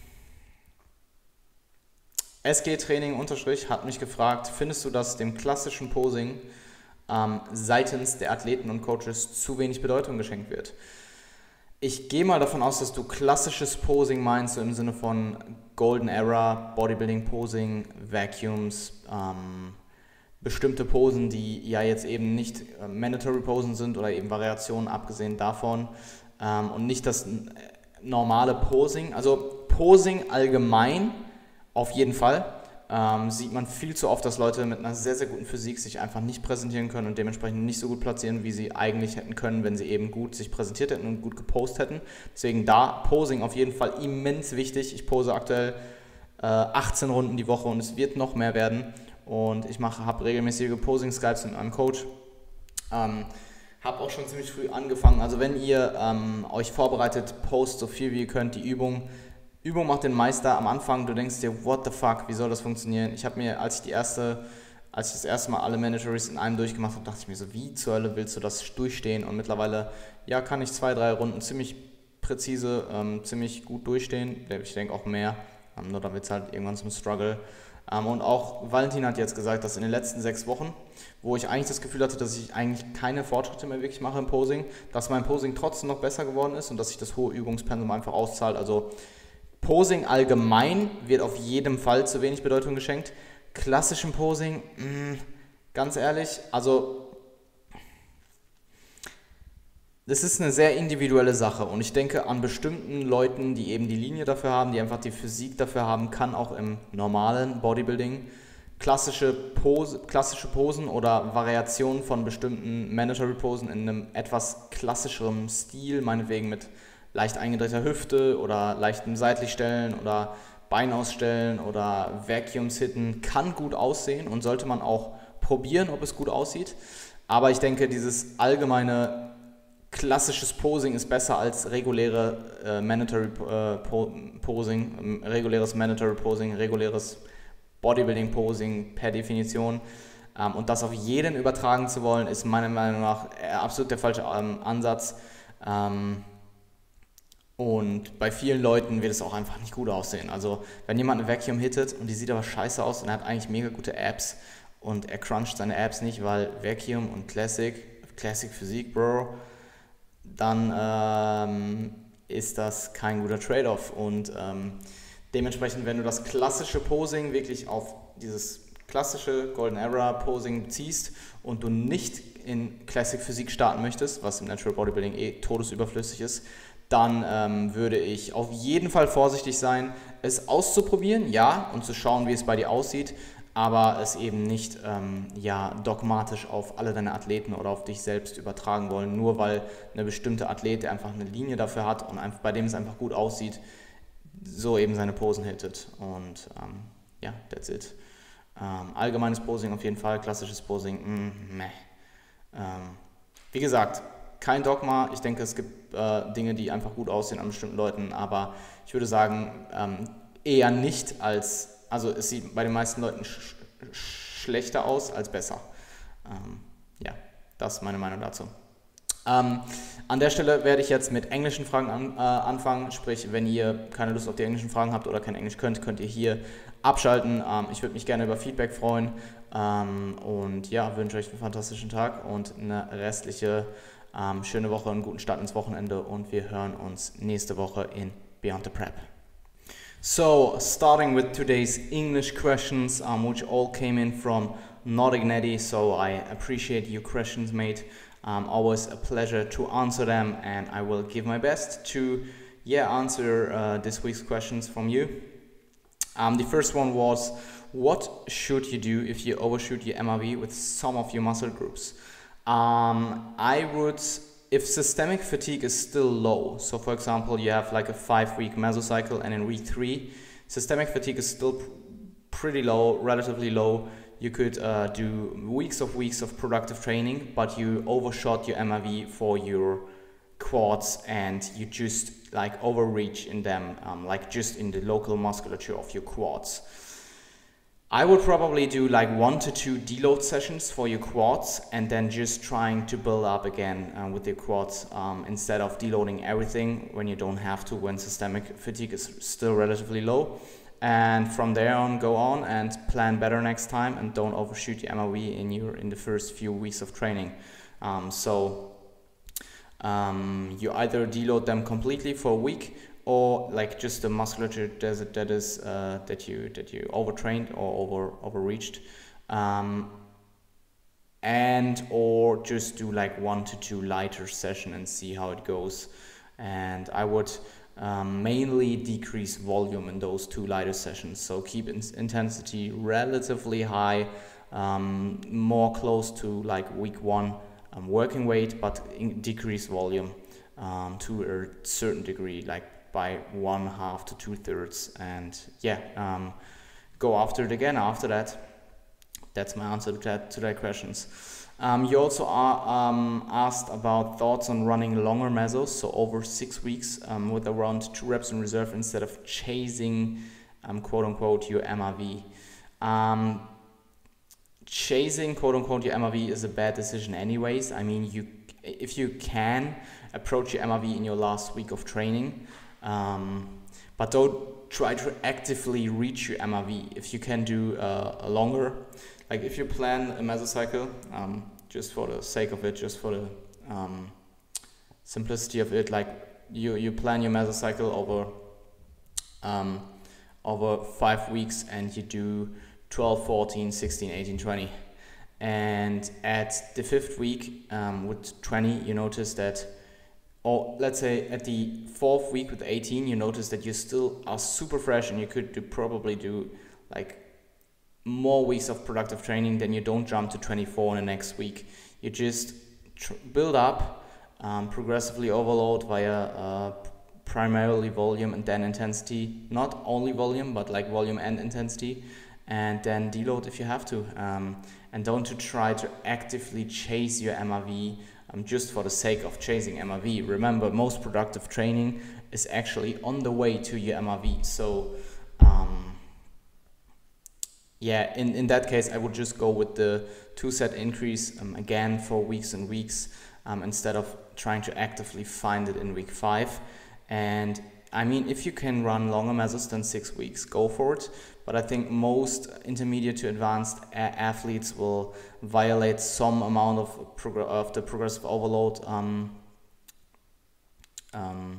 S G Training Unterstrich hat mich gefragt, findest du, dass dem klassischen Posing ähm, seitens der Athleten und Coaches zu wenig Bedeutung geschenkt wird? Ich gehe mal davon aus, dass du klassisches Posing meinst, so im Sinne von Golden Era, Bodybuilding Posing, Vacuums, ähm, bestimmte Posen, die ja jetzt eben nicht äh, Mandatory Posen sind oder eben Variationen abgesehen davon ähm, und nicht das äh, normale Posing. Also Posing allgemein auf jeden Fall ähm, sieht man viel zu oft, dass Leute mit einer sehr, sehr guten Physik sich einfach nicht präsentieren können und dementsprechend nicht so gut platzieren, wie sie eigentlich hätten können, wenn sie eben gut sich präsentiert hätten und gut gepostet hätten. Deswegen da Posing auf jeden Fall immens wichtig. Ich pose aktuell äh, achtzehn Runden die Woche und es wird noch mehr werden. Und ich habe regelmäßige Posing-Skypes mit meinem Coach. Ähm, habe auch schon ziemlich früh angefangen. Also wenn ihr ähm, euch vorbereitet, post so viel wie ihr könnt die Übung Übung macht den Meister. Am Anfang, du denkst dir, what the fuck, wie soll das funktionieren? Ich habe mir, als ich die erste, als ich das erste Mal alle Mandatories in einem durchgemacht habe, dachte ich mir so, wie zur Hölle willst du das durchstehen? Und mittlerweile, ja, kann ich zwei, drei Runden ziemlich präzise, ähm, ziemlich gut durchstehen. Ich denke auch mehr, ähm, nur dann wird es halt irgendwann zum Struggle. Ähm, und auch Valentin hat jetzt gesagt, dass in den letzten sechs Wochen, wo ich eigentlich das Gefühl hatte, dass ich eigentlich keine Fortschritte mehr wirklich mache im Posing, dass mein Posing trotzdem noch besser geworden ist und dass sich das hohe Übungspensum einfach auszahlt. Also Posing allgemein wird auf jeden Fall zu wenig Bedeutung geschenkt. Klassischem Posing, mh, ganz ehrlich, also das ist eine sehr individuelle Sache und ich denke, an bestimmten Leuten, die eben die Linie dafür haben, die einfach die Physik dafür haben, kann auch im normalen Bodybuilding klassische, Pose, klassische Posen oder Variationen von bestimmten Mandatory Posen in einem etwas klassischeren Stil, meinetwegen mit leicht eingedrehter Hüfte oder leichtem Seitlichstellen oder Bein ausstellen oder Vacuums hitten, kann gut aussehen und sollte man auch probieren, ob es gut aussieht. Aber ich denke, dieses allgemeine klassisches Posing ist besser als reguläre äh, Mandatory äh, po Posing, äh, reguläres Mandatory Posing, reguläres Bodybuilding Posing per Definition. Ähm, und das auf jeden übertragen zu wollen, ist meiner Meinung nach äh, absolut der falsche ähm, Ansatz. Ähm, Und bei vielen Leuten wird es auch einfach nicht gut aussehen. Also wenn jemand eine Vacuum hittet und die sieht aber scheiße aus und er hat eigentlich mega gute Abs und er cruncht seine Abs nicht, weil Vacuum und Classic, Classic Physik, Bro, dann ähm, ist das kein guter Trade-off. Und ähm, dementsprechend, wenn du das klassische Posing wirklich auf dieses klassische Golden Era Posing beziehst und du nicht in Classic Physik starten möchtest, was im Natural Bodybuilding eh todesüberflüssig ist, dann ähm, würde ich auf jeden Fall vorsichtig sein, es auszuprobieren, ja, und zu schauen, wie es bei dir aussieht, aber es eben nicht ähm, ja, dogmatisch auf alle deine Athleten oder auf dich selbst übertragen wollen, nur weil eine bestimmte Athlet, der einfach eine Linie dafür hat und einfach, bei dem es einfach gut aussieht, so eben seine Posen hittet. Und ähm, ja, that's it. Ähm, allgemeines Posing auf jeden Fall, klassisches Posing, mm, meh. Ähm, wie gesagt, kein Dogma, ich denke, es gibt äh, Dinge, die einfach gut aussehen an bestimmten Leuten, aber ich würde sagen, ähm, eher nicht als, also es sieht bei den meisten Leuten sch sch schlechter aus als besser. Ähm, ja, das ist meine Meinung dazu. Ähm, an der Stelle werde ich jetzt mit englischen Fragen an, äh, anfangen, sprich, wenn ihr keine Lust auf die englischen Fragen habt oder kein Englisch könnt, könnt ihr hier abschalten. Ähm, ich würde mich gerne über Feedback freuen ähm, und ja, wünsche euch einen fantastischen Tag und eine restliche ähm, schöne Woche, einen guten Start ins Wochenende und wir hören uns nächste Woche in Beyond the Prep. So, starting with today's English questions, um, which all came in from Nordigneti, so I appreciate your questions, mate. Um, always a pleasure to answer them, and I will give my best to, yeah, answer uh, this week's questions from you. Um, the first one was, what should you do if you overshoot your M R V with some of your muscle groups? Um, I would, if systemic fatigue is still low, so for example you have like a five week mesocycle and in week three systemic fatigue is still pr pretty low, relatively low, you could uh, do weeks of weeks of productive training, but you overshot your M R V for your quads and you just like overreach in them, um, like just in the local musculature of your quads. I would probably do like one to two deload sessions for your quads and then just trying to build up again uh, with your quads um, instead of deloading everything when you don't have to, when systemic fatigue is still relatively low. And from there on, go on and plan better next time and don't overshoot your M R V in your in the first few weeks of training. Um, so um, you either deload them completely for a week, or like just the musculature that, that is uh, that you that you overtrained or over overreached, um, and or just do like one to two lighter session and see how it goes. And I would um, mainly decrease volume in those two lighter sessions. So keep in intensity relatively high, um, more close to like week one um, working weight, but in decrease volume um, to a certain degree, like by one half to two thirds, and yeah, um, go after it again after that. That's my answer to that, to that questions. Um, you also are um, asked about thoughts on running longer mesos, so over six weeks um, with around two reps in reserve instead of chasing, um, quote unquote, your M R V. Um, chasing, quote unquote, your M R V is a bad decision anyways. I mean, you if you can approach your M R V in your last week of training, um, but don't try to actively reach your M R V. If you can do uh, a longer, like if you plan a mesocycle, um, just for the sake of it, just for the um, simplicity of it, like you, you plan your mesocycle over um, over five weeks and you do twelve, fourteen, sixteen, eighteen, twenty. And at the fifth week um, with twenty, you notice that, or let's say at the fourth week with eighteen, you notice that you still are super fresh and you could do, probably do like more weeks of productive training. Then you don't jump to twenty-four in the next week. You just tr build up, um, progressively overload via uh, primarily volume and then intensity. Not only volume, but like volume and intensity. And then deload if you have to. Um, and don't to try to actively chase your M R V um, just for the sake of chasing M R V. Remember, most productive training is actually on the way to your M R V. So um, yeah, in, in that case, I would just go with the two set increase um, again for weeks and weeks um, instead of trying to actively find it in week five. And I mean, if you can run longer mesos than six weeks, go for it. But I think most intermediate to advanced athletes will violate some amount of, prog of the progressive overload um, um,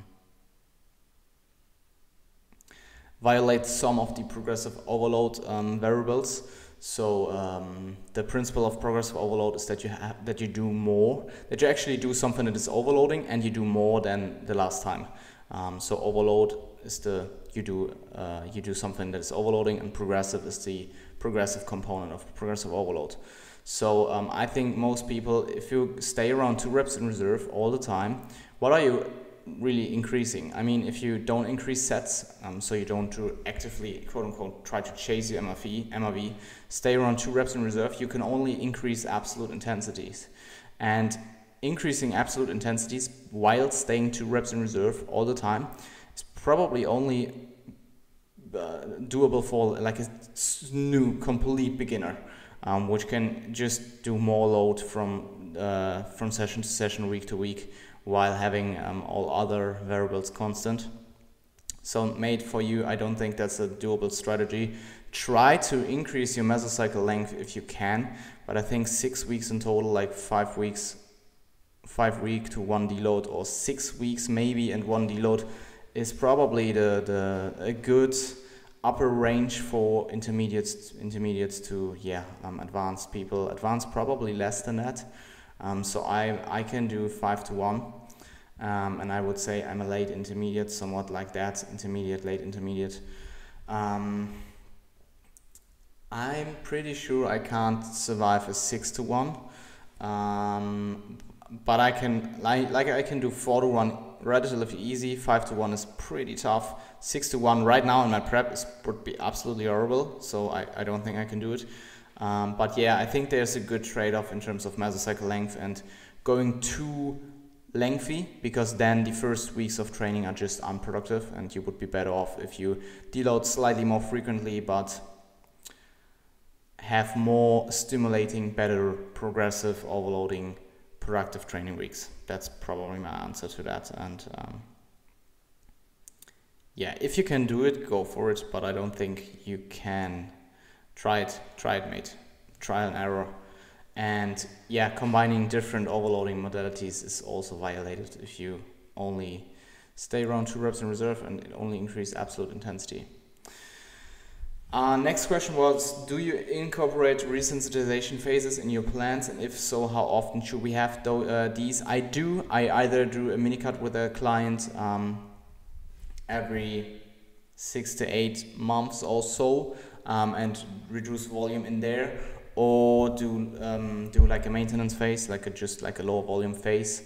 violate some of the progressive overload um, variables. So um, the principle of progressive overload is that you have that you do more, that you actually do something that is overloading and you do more than the last time. Um, so overload is the you do uh, you do something that is overloading, and progressive is the progressive component of progressive overload. So um, I think most people, if you stay around two reps in reserve all the time, what are you really increasing? I mean, if you don't increase sets, um, so you don't do actively quote unquote try to chase your M R V, M R V, stay around two reps in reserve, you can only increase absolute intensities. And increasing absolute intensities while staying two reps in reserve all the time is probably only uh, doable for like a new complete beginner, um, which can just do more load from uh, from session to session, week to week, while having um, all other variables constant. So made for you, I don't think that's a doable strategy. Try to increase your mesocycle length if you can, but I think six weeks in total, like five weeks five week to one deload, or six weeks maybe and one deload, is probably the, the a good upper range for intermediates intermediates to yeah um, advanced people. Advanced probably less than that. Um, so I I can do five to one, um, and I would say I'm a late intermediate, somewhat like that, intermediate, late intermediate. Um, I'm pretty sure I can't survive a six to one. Um, But I can, like, like I can do four to one relatively easy. Five to one is pretty tough. Six to one right now in my prep is, would be absolutely horrible. So I, I don't think I can do it. Um, but yeah, I think there's a good trade-off in terms of mesocycle length and going too lengthy, because then the first weeks of training are just unproductive, and you would be better off if you deload slightly more frequently, but have more stimulating, better progressive overloading productive training weeks. That's probably my answer to that. And um, yeah, if you can do it, go for it, but I don't think you can. Try it, try it, mate. Trial and error. And yeah, combining different overloading modalities is also violated if you only stay around two reps in reserve and only increase absolute intensity. Uh, next question was, do you incorporate resensitization phases in your plans, and if so, how often should we have th uh, these? I do. I either do a mini cut with a client um, every six to eight months or so, um, and reduce volume in there, or do um, do like a maintenance phase, like a just like a lower volume phase,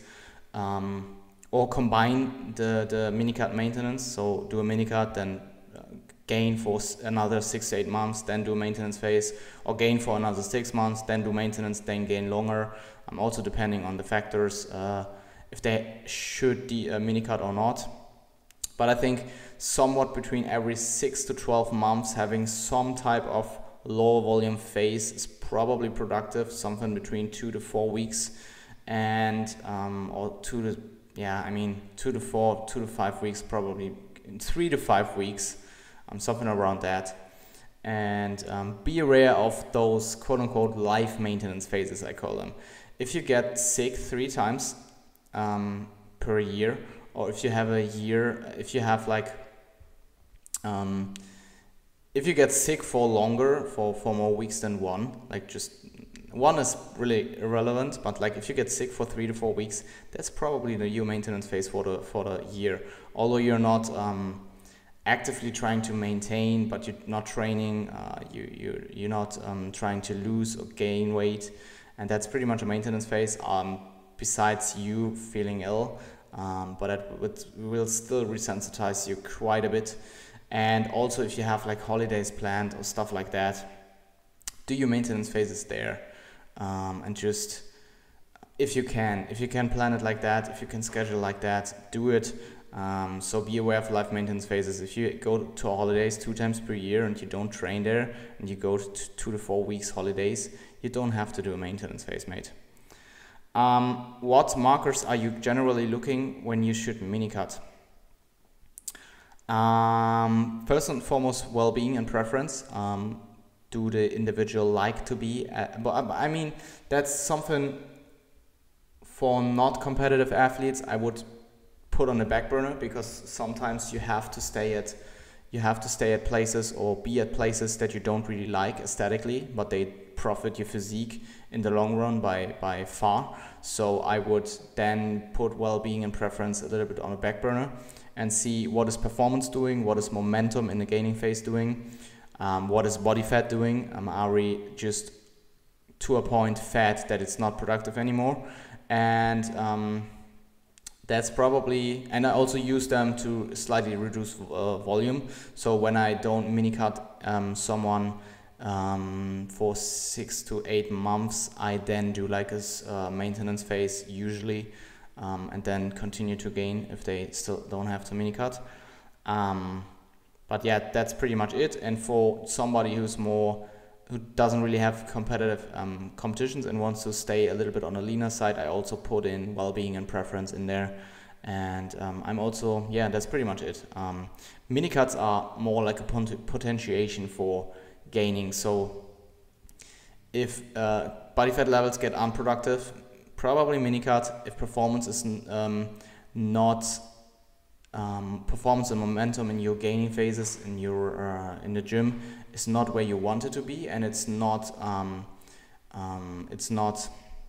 um, or combine the the mini cut maintenance. So do a mini cut, then gain for another six to eight months, then do a maintenance phase, or gain for another six months, then do maintenance, then gain longer. Um, also depending on the factors, uh, if they should de uh, mini cut or not. But I think somewhat between every six to twelve months, having some type of lower volume phase is probably productive, something between two to four weeks, and um, or two to yeah, I mean two to four, two to five weeks, probably three to five weeks, um, something around that. And um, be aware of those quote unquote life maintenance phases, I call them. If you get sick three times um, per year, or if you have a year, if you have like, um, if you get sick for longer, for, for more weeks than one, like just one is really irrelevant, but like if you get sick for three to four weeks, that's probably the your maintenance phase for the for the year. Although you're not um, actively trying to maintain, but you're not training, uh, you you you're not um, trying to lose or gain weight, and that's pretty much a maintenance phase. Um, besides you feeling ill, um, but it, it will still resensitize you quite a bit. And also, if you have like holidays planned or stuff like that, do your maintenance phases there. Um, and just, if you can, if you can plan it like that, if you can schedule like that, do it. Um, so be aware of life maintenance phases. If you go to holidays two times per year and you don't train there, and you go to two to four weeks holidays, you don't have to do a maintenance phase, mate. Um, what markers are you generally looking when you should mini cut? Um, first and foremost, well-being and preference. Um, do the individual like to be at, but I mean that's something for not competitive athletes I would put on the back burner, because sometimes you have to stay at you have to stay at places or be at places that you don't really like aesthetically, but they profit your physique in the long run by by far. So I would then put well-being and preference a little bit on the back burner and see what is performance doing, what is momentum in the gaining phase doing. Um, what is body fat doing? Um, are we just to a point fat that it's not productive anymore? And um, that's probably, and I also use them to slightly reduce uh, volume. So when I don't mini cut um, someone um, for six to eight months, I then do like a uh, maintenance phase usually, um, and then continue to gain if they still don't have to mini cut. Um, But yeah, that's pretty much it. And for somebody who's more, who doesn't really have competitive um, competitions and wants to stay a little bit on the leaner side, I also put in well-being and preference in there. And um, I'm also, yeah, that's pretty much it. Um, mini cuts are more like a pot potentiation for gaining. So if uh, body fat levels get unproductive, probably mini cut. If performance is um, not Um, performance and momentum in your gaining phases in your uh, in the gym is not where you want it to be, and it's not um, um, it's not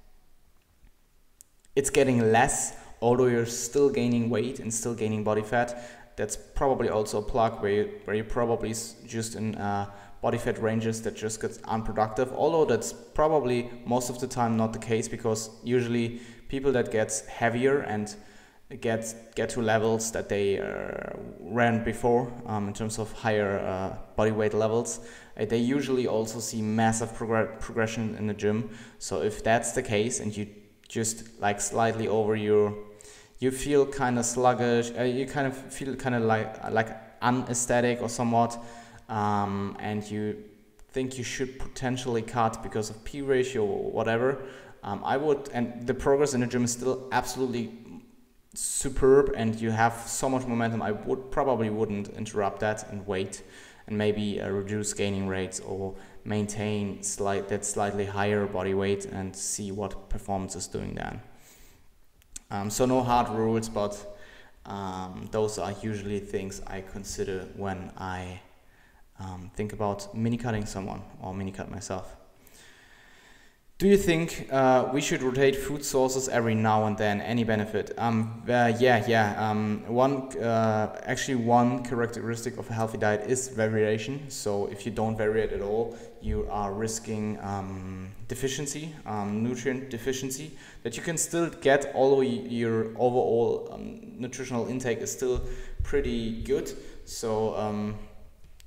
it's getting less, although you're still gaining weight and still gaining body fat. That's probably also a plug where you, where you probably just in uh, body fat ranges that just gets unproductive, although that's probably most of the time not the case, because usually people that get heavier and get get to levels that they uh, ran before um, in terms of higher uh, body weight levels, uh, they usually also see massive progr progression in the gym. So if that's the case and you just like slightly over your, you feel kind of sluggish, uh, you kind of feel kind of like like unaesthetic or somewhat, um, and you think you should potentially cut because of P ratio or whatever, um, I would, and the progress in the gym is still absolutely superb and you have so much momentum, I would probably wouldn't interrupt that and wait and maybe uh, reduce gaining rates or maintain slight that slightly higher body weight and see what performance is doing then. Um, so no hard rules, but um, those are usually things I consider when I um, think about mini cutting someone or mini cut myself. Do you think uh, we should rotate food sources every now and then? Any benefit? Um, uh, yeah, yeah. Um, one uh, actually one characteristic of a healthy diet is variation. So if you don't variate at all, you are risking um, deficiency, um, nutrient deficiency that you can still get, although your overall um, nutritional intake is still pretty good. So um,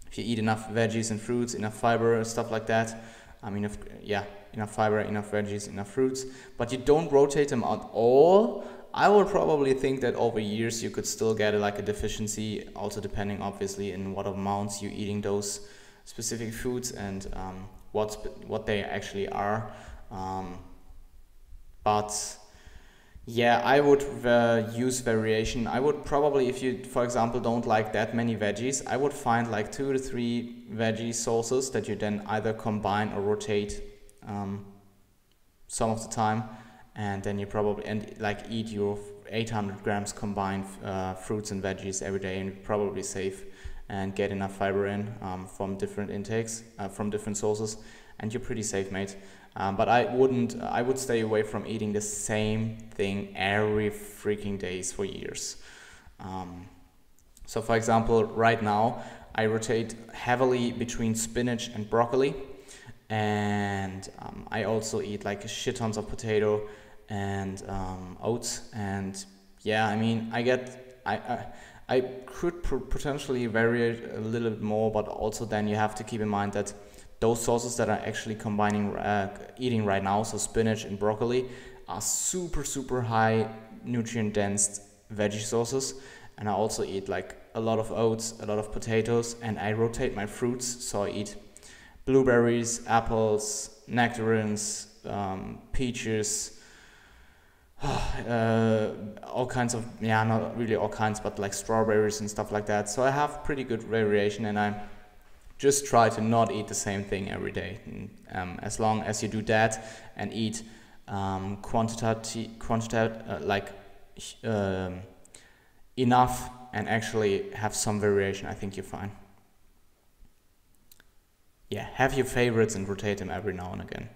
if you eat enough veggies and fruits, enough fiber, stuff like that, I mean, if, yeah, enough fiber, enough veggies, enough fruits, but you don't rotate them at all, I would probably think that over years you could still get like a deficiency, also depending obviously in what amounts you're eating those specific foods and um, what what they actually are. Um, but yeah, I would uh, use variation. I would probably, if you, for example, don't like that many veggies, I would find like two to three veggie sources that you then either combine or rotate um, some of the time, and then you probably and like eat your eight hundred grams combined uh, fruits and veggies every day, and you're probably safe and get enough fiber in um, from different intakes, uh, from different sources, and you're pretty safe, mate. Um, but I wouldn't, I would stay away from eating the same thing every freaking days for years. Um, so for example, right now, I rotate heavily between spinach and broccoli. And um, I also eat like shit tons of potato and um, oats. And yeah, I mean, I get, I, I, I could potentially vary it a little bit more, but also then you have to keep in mind that those sources that are actually combining uh, eating right now, so spinach and broccoli, are super super high nutrient dense veggie sources. And I also eat like a lot of oats, a lot of potatoes, and I rotate my fruits, so I eat blueberries, apples, nectarines, um, peaches, uh, all kinds of, yeah, not really all kinds, but like strawberries and stuff like that. So I have pretty good variation, and I just try to not eat the same thing every day. And, um, as long as you do that and eat um, quantity, quantity uh, like um, enough, and actually have some variation, I think you're fine. Yeah, have your favorites and rotate them every now and again.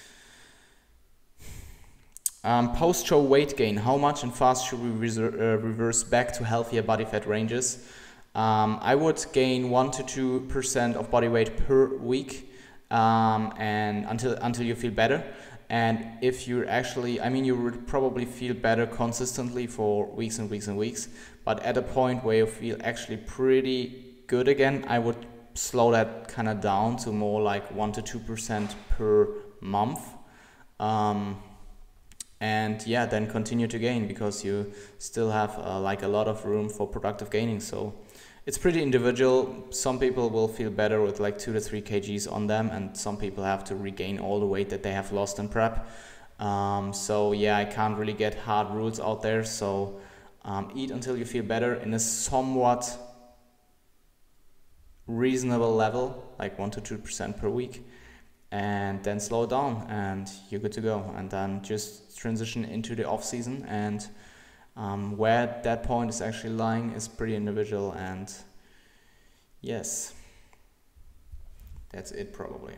Um, Post-show weight gain. How much and fast should we reser- uh, reverse back to healthier body fat ranges? Um, I would gain one to two percent of body weight per week, um, and until until you feel better. And if you're actually, I mean, you would probably feel better consistently for weeks and weeks and weeks. But at a point where you feel actually pretty good again, I would slow that kind of down to more like one to two percent per month. Um, and yeah, then continue to gain, because you still have uh, like a lot of room for productive gaining. So it's pretty individual. Some people will feel better with like two to three kgs on them, and some people have to regain all the weight that they have lost in prep. Um, so yeah, I can't really get hard rules out there. So um, eat until you feel better in a somewhat reasonable level, like one to two percent per week, and then slow down and you're good to go. And then just transition into the off season, and um, where that point is actually lying is pretty individual. And yes, that's it probably.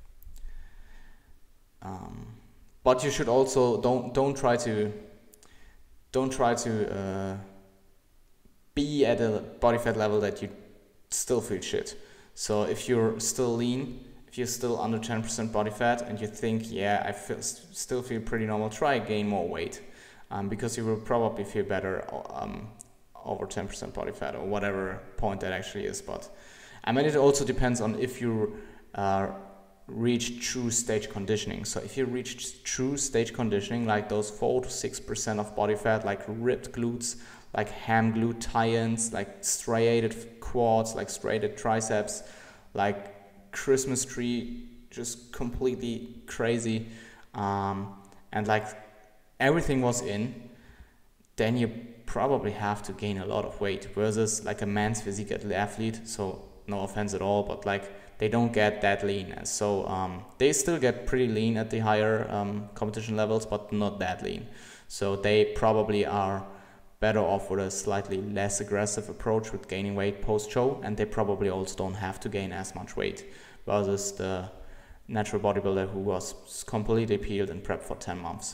Um, but you should also don't don't try to don't try to uh, be at a body fat level that you still feel shit. So if you're still lean, if you're still under ten percent body fat, and you think, yeah, I feel, still feel pretty normal, try gain more weight, um, because you will probably feel better um, over ten percent body fat, or whatever point that actually is. But I mean, it also depends on if you uh, reach true stage conditioning. So if you reach true stage conditioning, like those four to six percent of body fat, like ripped glutes, like ham glute tie-ins, like striated quads, like striated triceps, like Christmas tree, just completely crazy, um, and like everything was in, then you probably have to gain a lot of weight, versus like a man's physique athlete. So no offense at all, but like they don't get that lean. So um, they still get pretty lean at the higher um, competition levels, but not that lean. So they probably are better off with a slightly less aggressive approach with gaining weight post-show, and they probably also don't have to gain as much weight, versus the natural bodybuilder who was completely peeled and prepped for ten months.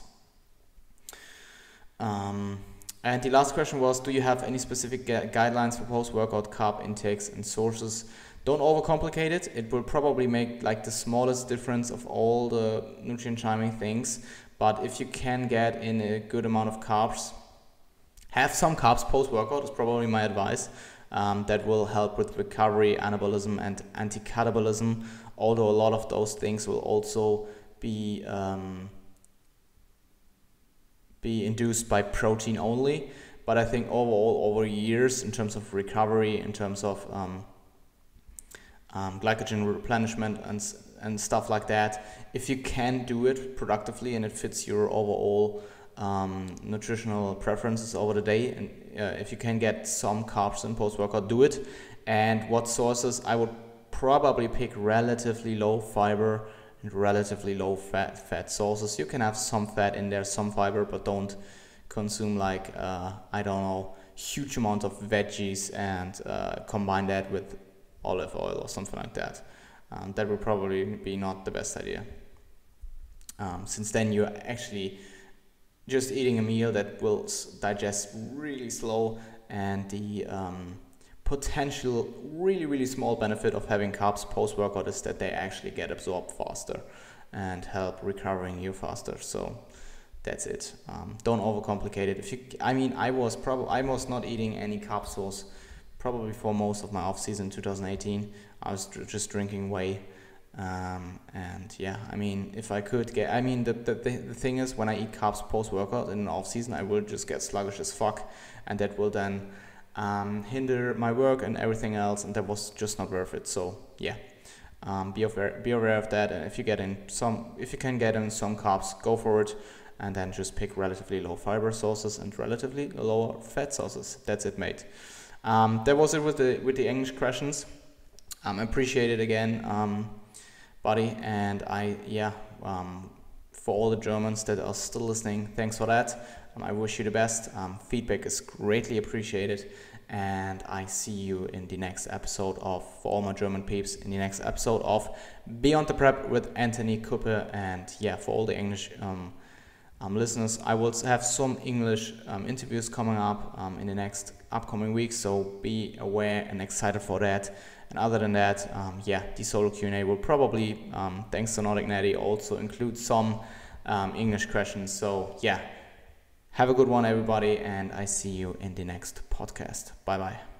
Um, and the last question was, do you have any specific gu- guidelines for post-workout carb intakes and sources? Don't overcomplicate it. It will probably make like the smallest difference of all the nutrient chiming things, but if you can get in a good amount of carbs, have some carbs post-workout is probably my advice. um, that will help with recovery, anabolism, and anti-catabolism. Although a lot of those things will also be um, be induced by protein only. But I think overall, over years, in terms of recovery, in terms of um, um, glycogen replenishment and and stuff like that, if you can do it productively and it fits your overall um, nutritional preferences over the day, and uh, if you can get some carbs in post-workout, do it. And what sources? I would probably pick relatively low fiber and relatively low fat fat sources. You can have some fat in there, some fiber, but don't consume like uh, I don't know, huge amount of veggies and uh, combine that with olive oil or something like that. Um, that would probably be not the best idea. Um, since then you're actually just eating a meal that will digest really slow, and the um, potential really really small benefit of having carbs post-workout is that they actually get absorbed faster and help recovering you faster. So that's it. Um, don't overcomplicate it. If you, I mean, I was probably I was not eating any carb source probably for most of my off season two thousand eighteen. I was just drinking whey, um, and yeah, I mean, if I could get, I mean, the, the the thing is, when I eat carbs post workout in off season, I will just get sluggish as fuck, and that will then um, hinder my work and everything else, and that was just not worth it. So yeah, um, be aware be aware of that, and if you get in some, if you can get in some carbs, go for it. And then just pick relatively low fiber sources and relatively lower fat sources. That's it, mate. Um, that was it with the with the English questions. Um, appreciate it again, um, buddy. And I yeah, um, for all the Germans that are still listening, thanks for that. Um, I wish you the best. Um, feedback is greatly appreciated, and I see you in the next episode of, for all my German peeps, in the next episode of Beyond the Prep with Anthony Kuppe. And yeah, for all the English um, Um, listeners, I will have some English um, interviews coming up um, in the next upcoming weeks, so be aware and excited for that. And other than that, um, yeah, the solo Q and A will probably, um, thanks to Nordic Natty, also include some um, English questions. So yeah, have a good one, everybody, and I see you in the next podcast. Bye bye.